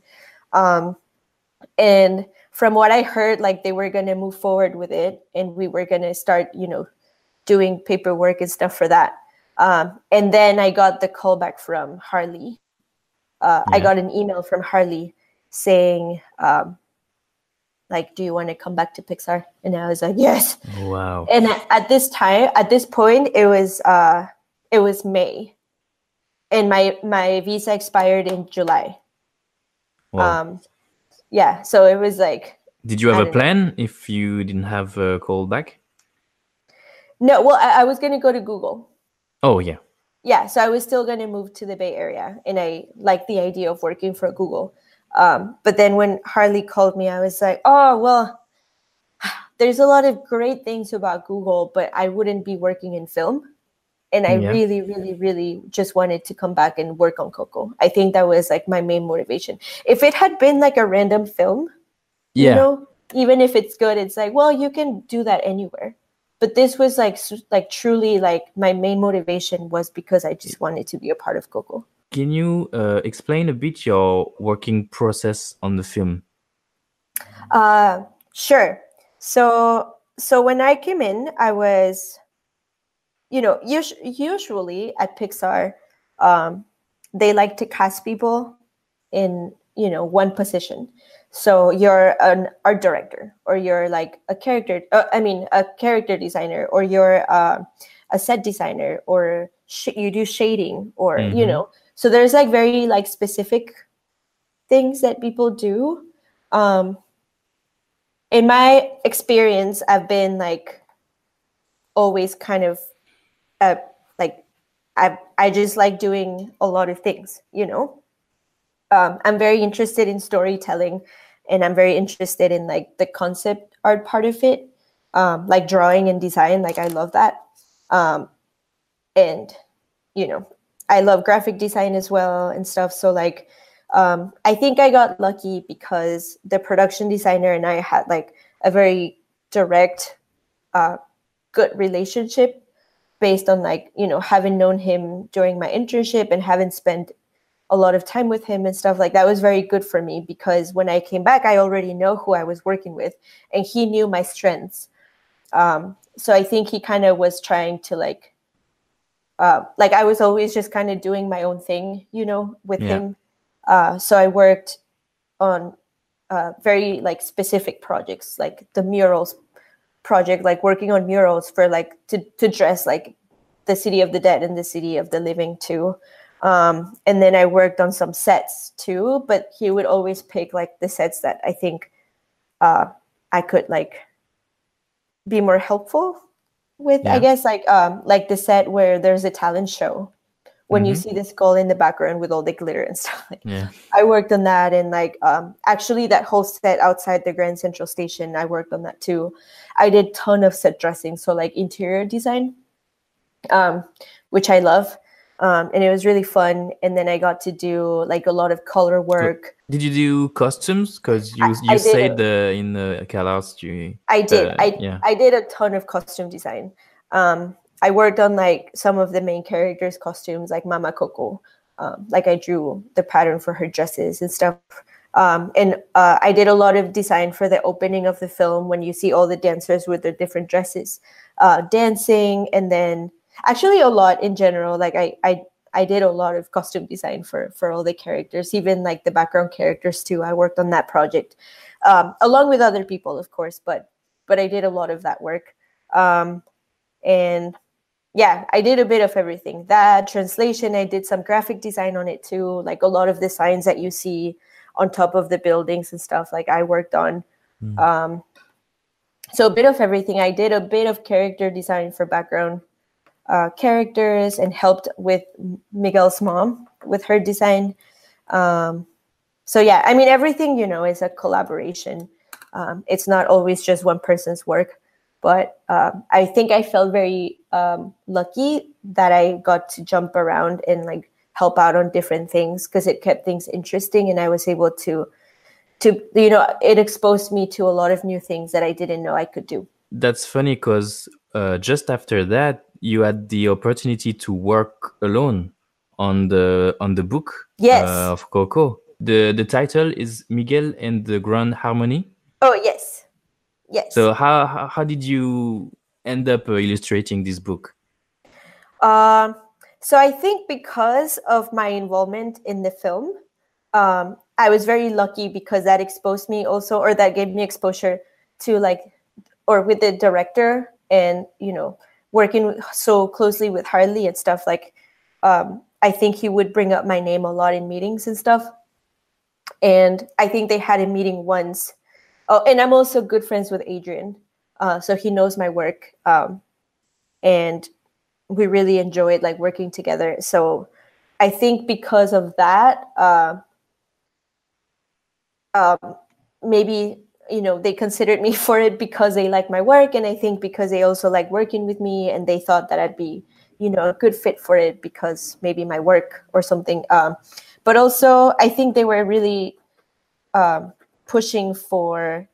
And from what I heard, like they were going to move forward with it, and we were going to start, doing paperwork and stuff for that. And then I got the call back from Harley. I got an email from Harley saying, like, do you want to come back to Pixar? And I was like, yes. Wow. And at this point, it was May, and my visa expired in July. Wow. Yeah, so it was like. Did you have a plan if you didn't have a call back? No, well, I was going to go to Google. Oh, yeah. Yeah, so I was still going to move to the Bay Area, and I liked the idea of working for Google. But then when Harley called me, I was like, oh, well, there's a lot of great things about Google, but I wouldn't be working in film. And I really, really, really just wanted to come back and work on Coco. I think that was like my main motivation. If it had been like a random film, even if it's good, it's like, well, you can do that anywhere. But this was like truly like my main motivation was because I just wanted to be a part of Coco. Can you explain a bit your working process on the film? Sure. So when I came in, I was, usually at Pixar, they like to cast people in, one position. So you're an art director, or you're like a character designer, or you're a set designer, or you do shading, or, so there's like very like specific things that people do. In my experience, I've been like always kind of like I just like doing a lot of things, I'm very interested in storytelling, and I'm very interested in like the concept art part of it, like drawing and design. Like I love that. And, I love graphic design as well and stuff. So like, I think I got lucky because the production designer and I had like a very direct, good relationship based on like, having known him during my internship and having spent a lot of time with him and stuff. Like that was very good for me, because when I came back, I already know who I was working with, and he knew my strengths. So I think he kind of was trying to like I was always just kind of doing my own thing, with him. So I worked on very like specific projects, like the murals project, like working on murals for like to dress like the City of the Dead and the City of the Living too. And then I worked on some sets too, but he would always pick like the sets that I think I could like be more helpful with, I guess, like the set where there's a talent show, when you see the skull in the background with all the glitter and stuff. I worked on that, and like actually that whole set outside the Grand Central Station, I worked on that too. I did a ton of set dressing, so like interior design, which I love. And it was really fun. And then I got to do like a lot of color work. Did you do costumes? Because you said in the CalArts I did. I did a ton of costume design. I worked on like some of the main characters' costumes, like Mama Coco. Like I drew the pattern for her dresses and stuff. And I did a lot of design for the opening of the film, when you see all the dancers with their different dresses dancing. And then actually a lot in general, like I did a lot of costume design for all the characters, even like the background characters too. I worked on that project along with other people, of course, but I did a lot of that work. And yeah, I did a bit of everything. That translation, I did some graphic design on it too, like a lot of the signs that you see on top of the buildings and stuff, like I worked on. So a bit of everything. I did a bit of character design for background. characters and helped with Miguel's mom with her design. So yeah, I mean, everything, is a collaboration. It's not always just one person's work, but I think I felt very lucky that I got to jump around and like help out on different things because it kept things interesting, and I was able to it exposed me to a lot of new things that I didn't know I could do. That's funny because just after that, you had the opportunity to work alone on the book Yes. Of Coco. The title is Miguel and the Grand Harmony. Oh, yes. Yes. So how did you end up illustrating this book? So I think because of my involvement in the film, I was very lucky because that exposed me also, or that gave me exposure to with the director and, working so closely with Harley and stuff. Like, I think he would bring up my name a lot in meetings and stuff. And I think they had a meeting once. Oh, and I'm also good friends with Adrian. So he knows my work. And we really enjoyed like working together. So I think because of that, maybe, they considered me for it because they like my work. And I think because they also like working with me and they thought that I'd be, a good fit for it because maybe my work or something. But also I think they were really pushing for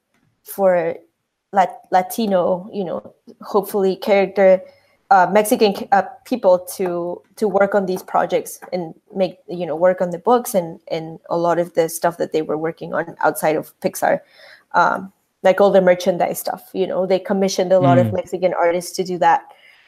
Latino, hopefully character, Mexican people to work on these projects and make, work on the books and a lot of the stuff that they were working on outside of Pixar, like all the merchandise stuff. They commissioned a lot of Mexican artists to do that.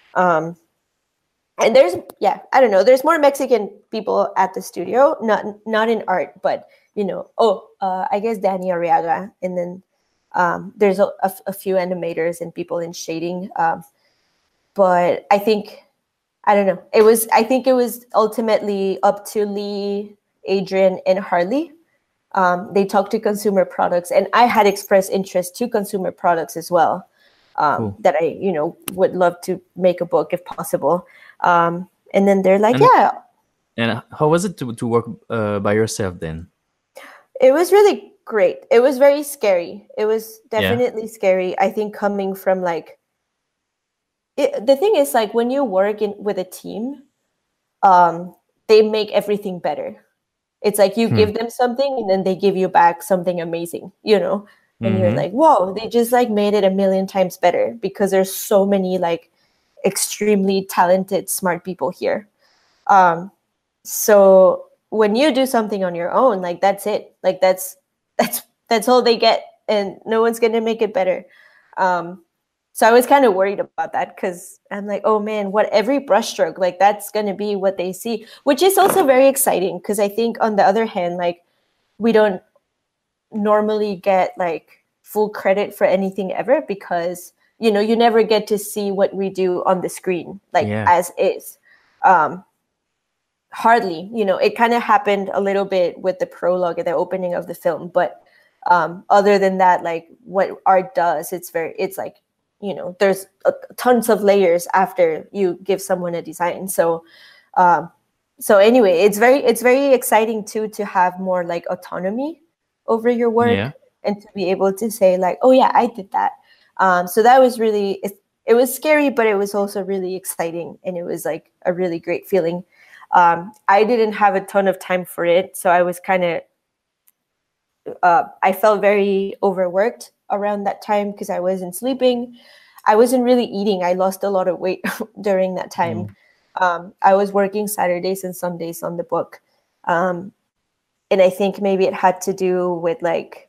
And there's more Mexican people at the studio, not in art, but I guess Danny Arriaga, and then there's a few animators and people in shading. But I think, I don't know. I think it was ultimately up to Lee, Adrian, and Harley. They talked to consumer products, and I had expressed interest to consumer products as well. Cool. That I, would love to make a book if possible. And then they're like, And how was it to work by yourself then? It was really great. It was very scary. It was definitely scary. I think coming from the thing is like when you work with a team, they make everything better. It's like you give them something and then they give you back something amazing, and you're like, whoa, they just like made it 1,000,000 times better because there's so many like extremely talented, smart people here. So when you do something on your own, like that's it. Like that's all they get, and no one's gonna make it better. So I was kind of worried about that because I'm like, oh man, what every brushstroke, like that's gonna be what they see, which is also very exciting because I think on the other hand, like we don't normally get like full credit for anything ever because you never get to see what we do on the screen, like as is. Hardly, it kind of happened a little bit with the prologue at the opening of the film, but other than that, like what art does, it's like, there's tons of layers after you give someone a design. So anyway, it's very exciting too to have more like autonomy over your work and to be able to say like, oh yeah, I did that. So that was really, it was scary, but it was also really exciting, and it was like a really great feeling. I didn't have a ton of time for it, so I was kind of, I felt very overworked around that time because I wasn't sleeping. I wasn't really eating. I lost a lot of weight during that time. I was working Saturdays and Sundays on the book. And I think maybe it had to do with like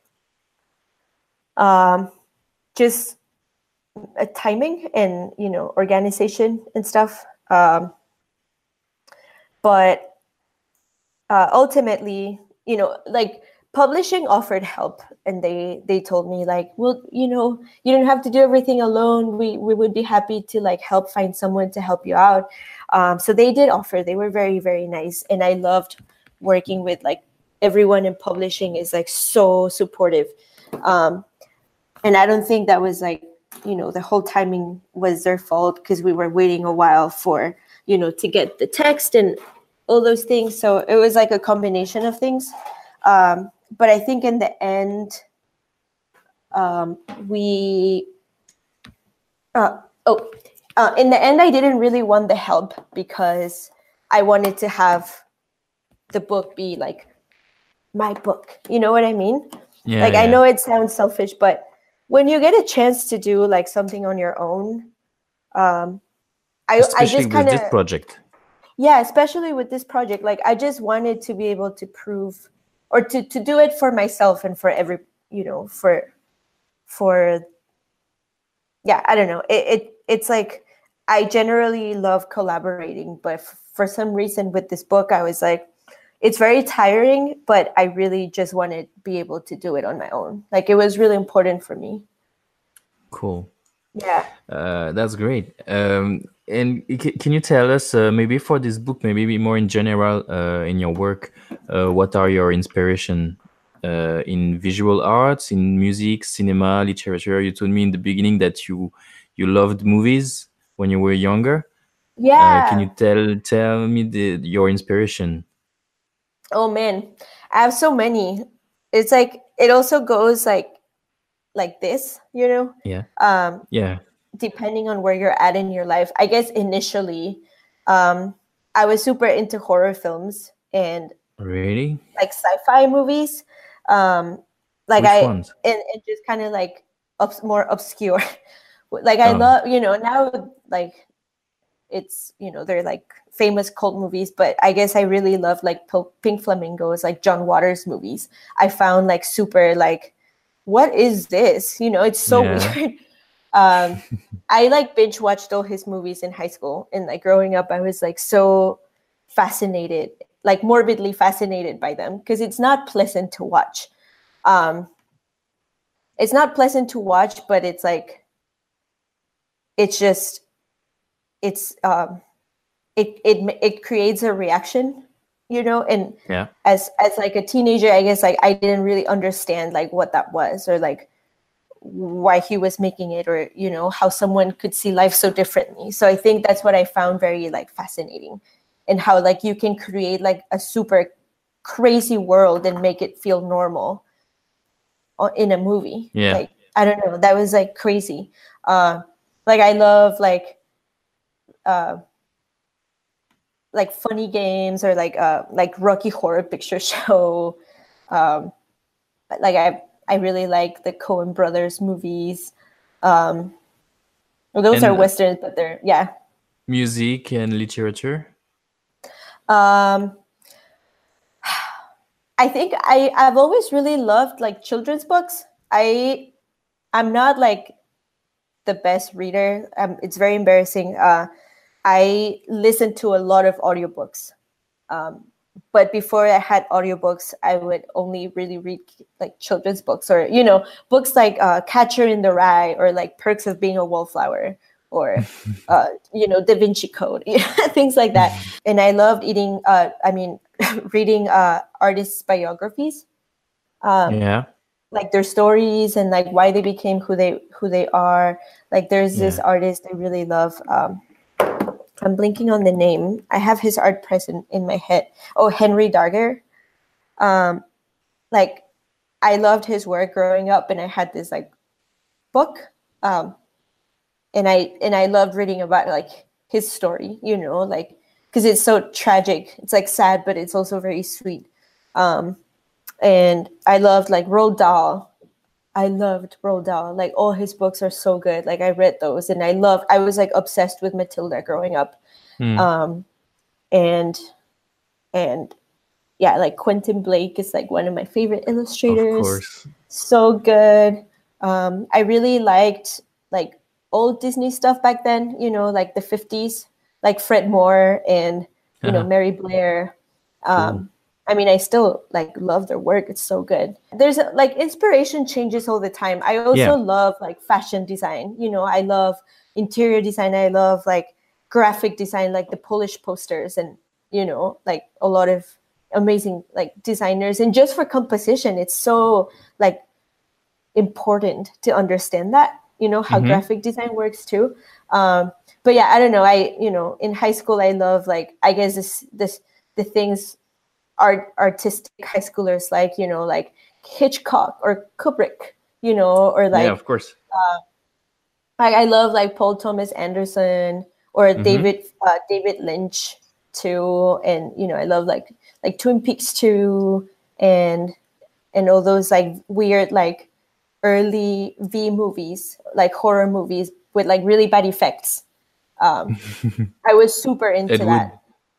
just timing and, organization and stuff. But ultimately, like publishing offered help, and they told me like, well, you don't have to do everything alone. We would be happy to like help find someone to help you out. So they did offer. They were very, very nice, and I loved working with like everyone in publishing is like so supportive. And I don't think that was like the whole timing was their fault because we were waiting a while for, to get the text and all those things. So it was like a combination of things. But I think in the end, in the end, I didn't really want the help because I wanted to have the book be like my book. You know what I mean? Yeah, I know it sounds selfish, but when you get a chance to do like something on your own, I just kind of, this project. Yeah, especially with this project, like I just wanted to be able to prove or to do it for myself and for every, for yeah, I don't know. It's like I generally love collaborating, but for some reason with this book, I was like, it's very tiring, but I really just want to be able to do it on my own. Like it was really important for me. Cool. Yeah. That's great. And can you tell us, maybe for this book, maybe more in general, in your work, what are your inspiration in visual arts, in music, cinema, literature? You told me in the beginning that you loved movies when you were younger. Yeah. Can you tell me your inspiration? Oh man, I have so many. It's like it also goes like this, Yeah. Yeah. Depending on where you're at in your life. I guess initially, I was super into horror films and Really? like sci-fi movies. Like Which ones? And just kind of like more obscure. Like I love, now like it's, they're like famous cult movies, but I guess I really love like Pink Flamingos, like John Waters movies. I found like super like, what is this? It's so weird. I like binge watched all his movies in high school, and like growing up, I was like so fascinated, like morbidly fascinated by them because it's not pleasant to watch. It's not pleasant to watch, but it's like, it's just, it creates a reaction, and Yeah. as like a teenager, I guess like I didn't really understand like what that was or like why he was making it or how someone could see life so differently. So I think that's what I found very like fascinating, and how like you can create like a super crazy world and make it feel normal in a movie. Yeah. Like I don't know, that was like crazy. Like I love like funny games or like Rocky Horror Picture Show. Like I really like the Coen Brothers movies. Those are Westerns, but they're music and literature. I think I've always really loved like children's books. I'm not like the best reader. It's very embarrassing. I listen to a lot of audiobooks. But before I had audiobooks, I would only really read like children's books or, books like Catcher in the Rye or like Perks of Being a Wallflower or, Da Vinci Code, things like that. And I loved reading artists' biographies. Like their stories and like why they became who they are. Like there's this artist I really love. I'm blinking on the name. I have his art present in my head. Oh, Henry Darger. Like I loved his work growing up, and I had this like book. And I loved reading about like his story, like because it's so tragic. It's like sad, but it's also very sweet. And I loved like Roald Dahl. I loved Roald Dahl. Like all his books are so good. Like I read those, and I was like obsessed with Matilda growing up. And yeah, like Quentin Blake is like one of my favorite illustrators. Of course. So good. I really liked like old Disney stuff back then, like the 50s, like Fred Moore and, Mary Blair. Cool. I still like love their work. It's so good. There's like inspiration changes all the time. I also love like fashion design. I love interior design. I love like graphic design, like the Polish posters and, like a lot of amazing like designers. And just for composition, it's so like important to understand that. how graphic design works too. But yeah, I don't know. In high school, I love like, I guess the things artistic high schoolers like, like Hitchcock or Kubrick, or like, yeah, of course. I love like Paul Thomas Anderson or David Lynch too, and I love like Twin Peaks too, and all those like weird like early V movies, like horror movies with like really bad effects. I was super into Ed Wood. that.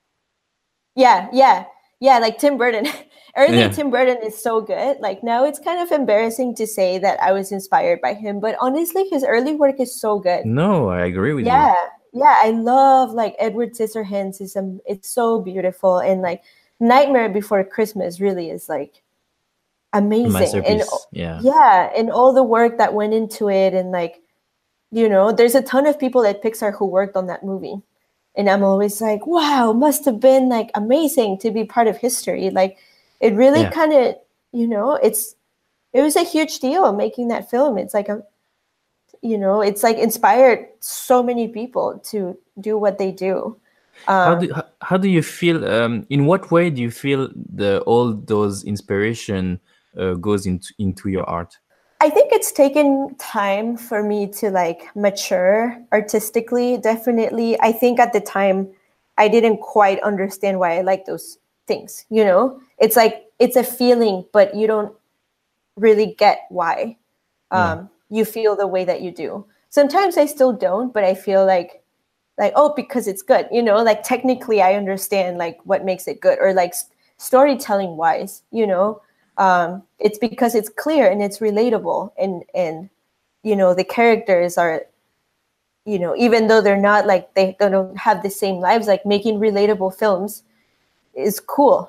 Yeah, like Tim Burton. Early Tim Burton is so good. Like now it's kind of embarrassing to say that I was inspired by him, but honestly, his early work is so good. No, I agree with you. Yeah, I love like Edward Scissorhands. It's so beautiful, and like Nightmare Before Christmas really is like amazing. Masterpiece. And all the work that went into it, and like there's a ton of people at Pixar who worked on that movie. And I'm always like, wow, must have been like amazing to be part of history. Like it really kind of, it was a huge deal making that film. It's like it's like inspired so many people to do what they do. How do you feel? In what way do you feel all those inspiration goes into your art? I think it's taken time for me to like mature artistically. Definitely. I think at the time I didn't quite understand why I like those things. It's like, it's a feeling, but you don't really get why you feel the way that you do. Sometimes I still don't, but I feel like, oh, because it's good, like technically I understand like what makes it good, or like storytelling wise, it's because it's clear and it's relatable, and the characters are, even though they're not like, they don't have the same lives, like making relatable films is cool,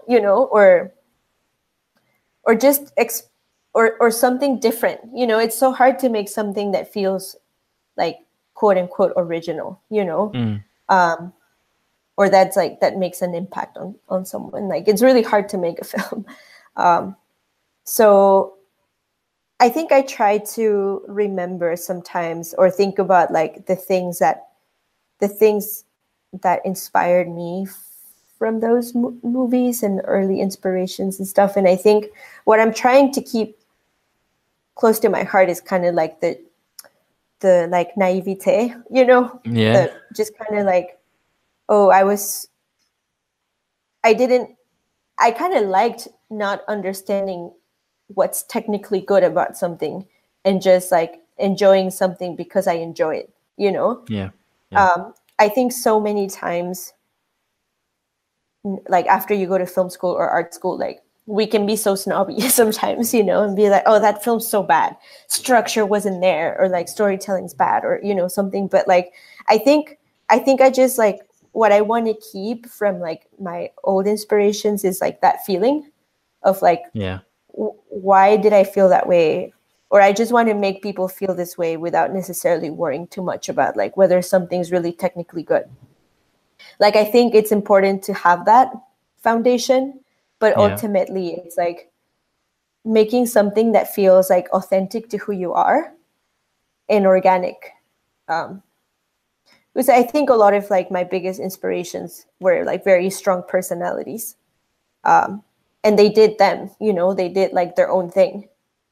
or just or something different. It's so hard to make something that feels like quote unquote original, or that's like, that makes an impact on someone. Like it's really hard to make a film. So I think I try to remember sometimes, or think about like the things that inspired me from those movies and early inspirations and stuff. And I think what I'm trying to keep close to my heart is kind of like the like naivete, just kind of like, oh, I kind of liked not understanding what's technically good about something, and just like enjoying something because I enjoy it, Yeah. I think so many times, like after you go to film school or art school, like we can be so snobby sometimes, and be like, oh, that film's so bad, structure wasn't there, or like storytelling's bad, or something. But like I think I just like, what I want to keep from like my old inspirations is like that feeling of like, why did I feel that way? Or I just want to make people feel this way without necessarily worrying too much about like whether something's really technically good. Like I think it's important to have that foundation, but ultimately it's like making something that feels like authentic to who you are and organic. Because I think a lot of like my biggest inspirations were like very strong personalities. And they did them, they did like their own thing.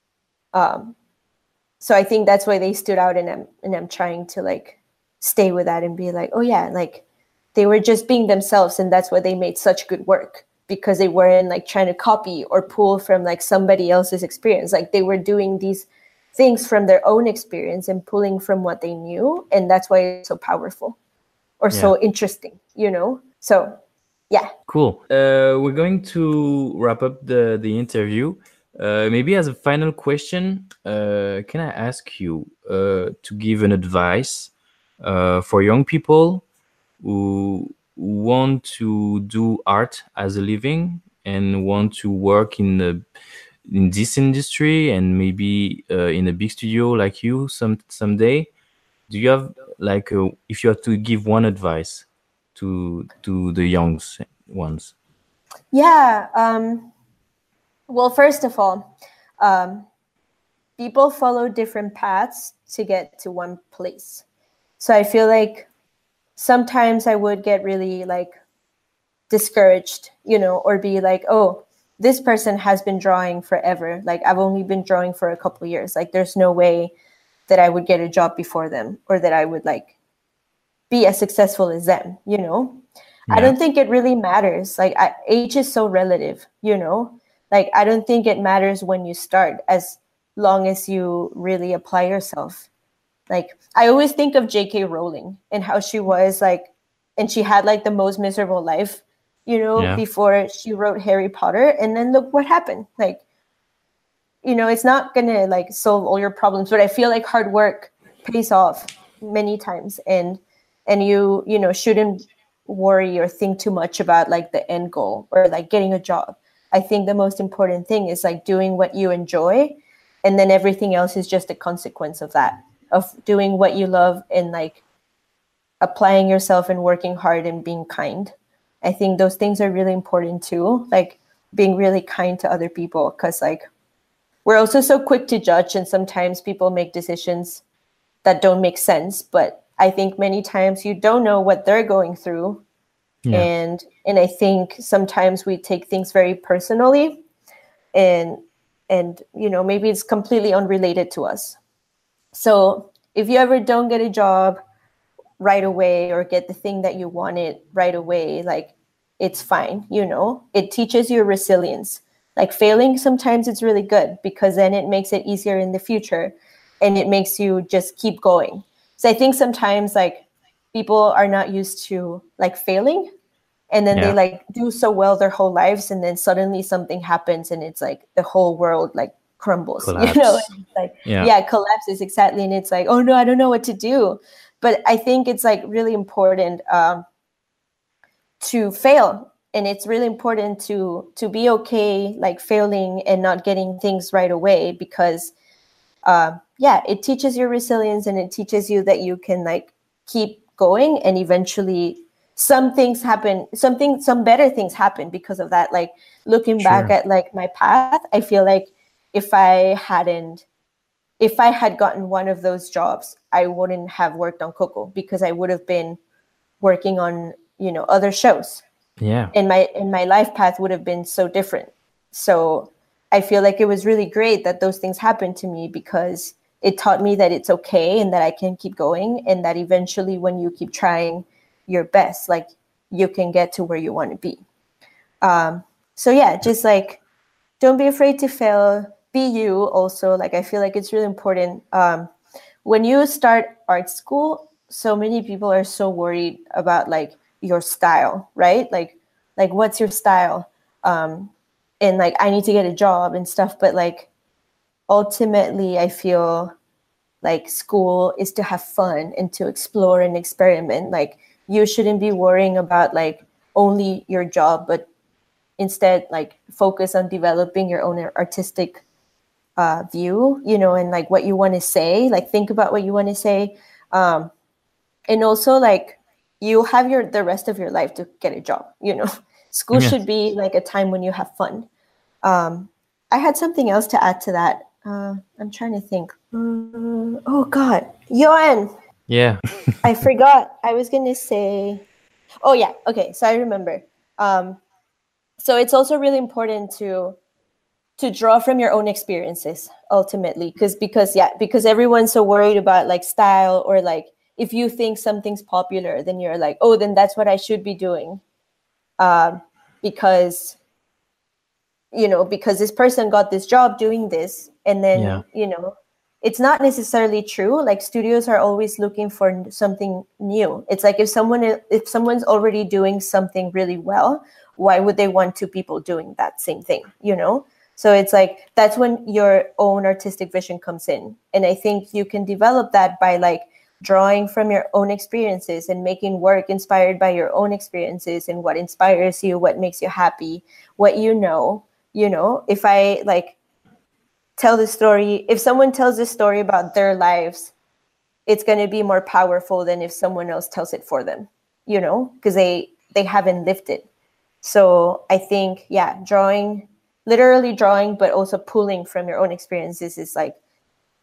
So I think that's why they stood out, and I'm trying to like stay with that and be like, oh yeah, like they were just being themselves, and that's why they made such good work, because they weren't like trying to copy or pull from like somebody else's experience. Like they were doing these things from their own experience and pulling from what they knew, and that's why it's so powerful or so interesting, So yeah. Cool. We're going to wrap up the interview. Maybe as a final question, can I ask you to give an advice for young people who want to do art as a living and want to work in this industry, and maybe in a big studio like you someday? Do you have like if you have to give one advice to the young ones? Yeah. Well, first of all, people follow different paths to get to one place. So I feel like sometimes I would get really like discouraged, or be like, oh, this person has been drawing forever. Like I've only been drawing for a couple of years. Like there's no way that I would get a job before them, or that I would like be as successful as them, Yeah. I don't think it really matters. Like age is so relative, Like I don't think it matters when you start, as long as you really apply yourself. Like I always think of J.K. Rowling and how she was like, and she had like the most miserable life, before she wrote Harry Potter. And then look what happened. Like, it's not gonna like solve all your problems, but I feel like hard work pays off many times, and you shouldn't worry or think too much about like the end goal or like getting a job. I think the most important thing is like doing what you enjoy, and then everything else is just a consequence of that, of doing what you love and like applying yourself and working hard and being kind. I think those things are really important too, like being really kind to other people, because like we're also so quick to judge, and sometimes people make decisions that don't make sense. But I think many times you don't know what they're going through. Yeah. And I think sometimes we take things very personally, and maybe it's completely unrelated to us. So if you ever don't get a job right away, or get the thing that you wanted right away, like it's fine. It teaches you resilience. Like failing, sometimes it's really good, because then it makes it easier in the future, and it makes you just keep going. So I think sometimes like people are not used to like failing, and then they like do so well their whole lives, and then suddenly something happens and it's like the whole world like crumbles. Collapse. And it's like collapses, exactly. And it's like, oh no, I don't know what to do. But I think it's like really important to fail, and it's really important to be okay like failing and not getting things right away, because it teaches you resilience, and it teaches you that you can like keep going, and eventually some things happen, some better things happen because of that. Like looking back at like my path, I feel like if I had gotten one of those jobs, I wouldn't have worked on Coco, because I would have been working on, other shows. Yeah. And my life path would have been so different. So I feel like it was really great that those things happened to me, because it taught me that it's okay, and that I can keep going, and that eventually when you keep trying your best, like you can get to where you want to be. So yeah, just like, don't be afraid to fail. Be you also. Like, I feel like it's really important. When you start art school, so many people are so worried about like your style, right? Like what's your style? And like, I need to get a job and stuff. But like, ultimately, I feel like school is to have fun and to explore and experiment. Like, you shouldn't be worrying about like only your job, but instead like focus on developing your own artistic view, and like what you want to say. Like, think about what you want to say. And also like, you have the rest of your life to get a job, School should be like a time when you have fun. I had something else to add to that. I'm trying to think. Oh God, Johan. Yeah. I forgot. I was going to say, oh yeah. Okay. So I remember. So it's also really important to draw from your own experiences ultimately. Because everyone's so worried about like style, or like, if you think something's popular, then you're like, oh, then that's what I should be doing. Because this person got this job doing this, and then, it's not necessarily true. Like, studios are always looking for something new. It's like, if someone's already doing something really well, why would they want two people doing that same thing, So it's like, that's when your own artistic vision comes in. And I think you can develop that by like drawing from your own experiences and making work inspired by your own experiences and what inspires you, what makes you happy, what if I like tell the story, if someone tells a story about their lives, it's going to be more powerful than if someone else tells it for them, because they haven't lived it. So I think, literally drawing, but also pulling from your own experiences is like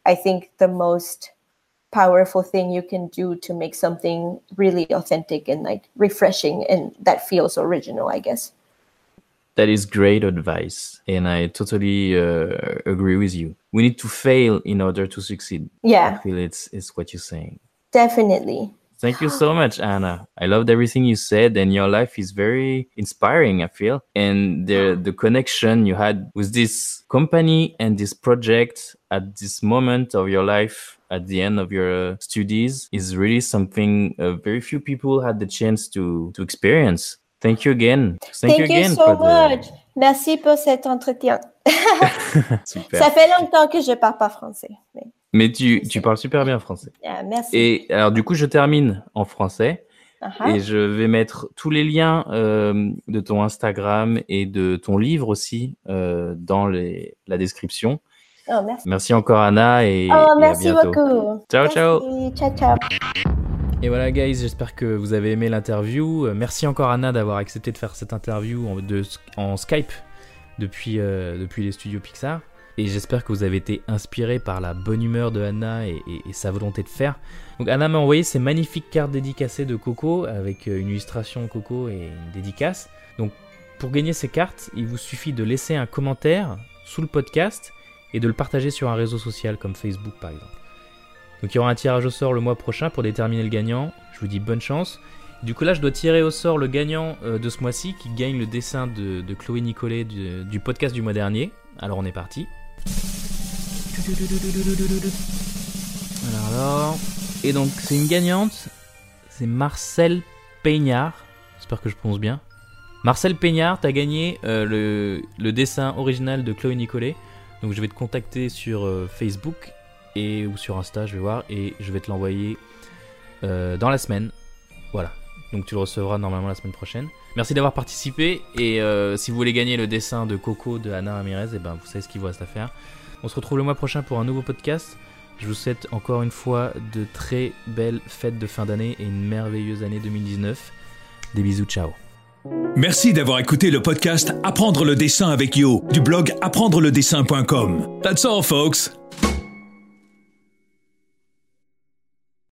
I think the most powerful thing you can do to make something really authentic and like refreshing and that feels original, I guess. That is great advice, and I totally agree with you. We need to fail in order to succeed. Yeah. I feel it's what you're saying. Definitely. Thank you so much, Anna. I loved everything you said, and your life is very inspiring, I feel. And the connection you had with this company and this project at this moment of your life, at the end of your studies, is really something very few people had the chance to experience. Thank you again. Thank you again so much. Merci pour cet entretien. Super. Ça fait longtemps que je parle pas français. Mais tu parles super bien français. Merci. Et alors du coup, je termine en français. Et je vais mettre tous les liens de ton Instagram et de ton livre aussi dans la description. Oh, merci. Merci encore, Anna, et à bientôt. Merci beaucoup. Ciao, merci. ciao. Ciao, ciao. Et voilà, guys, j'espère que vous avez aimé l'interview. Merci encore, Anna, d'avoir accepté de faire cette interview en Skype depuis les studios Pixar. Et j'espère que vous avez été inspirés par la bonne humeur de Anna et sa volonté de faire. Donc Anna m'a envoyé ces magnifiques cartes dédicacées de Coco avec une illustration Coco et une dédicace. Donc pour gagner ces cartes, il vous suffit de laisser un commentaire sous le podcast et de le partager sur un réseau social comme Facebook par exemple. Donc il y aura un tirage au sort le mois prochain pour déterminer le gagnant. Je vous dis bonne chance. Du coup là je dois tirer au sort le gagnant de ce mois-ci qui gagne le dessin de Chloé Nicolet du podcast du mois dernier. Alors on est parti. Alors. Et donc c'est une gagnante. C'est Marcel Peignard. J'espère que je prononce bien. Marcel Peignard, t'as gagné le dessin original de Chloé Nicolet. Donc je vais te contacter sur Facebook ou sur Insta, je vais voir, et je vais te l'envoyer dans la semaine. Voilà. Donc tu le recevras normalement la semaine prochaine. Merci d'avoir participé, et si vous voulez gagner le dessin de Coco de Anna Ramirez, et ben vous savez ce qu'il vous reste à faire. On se retrouve le mois prochain pour un nouveau podcast. Je vous souhaite encore une fois de très belles fêtes de fin d'année et une merveilleuse année 2019. Des bisous, ciao. Merci d'avoir écouté le podcast Apprendre le dessin avec Yo du blog apprendreledessin.com. That's all, folks.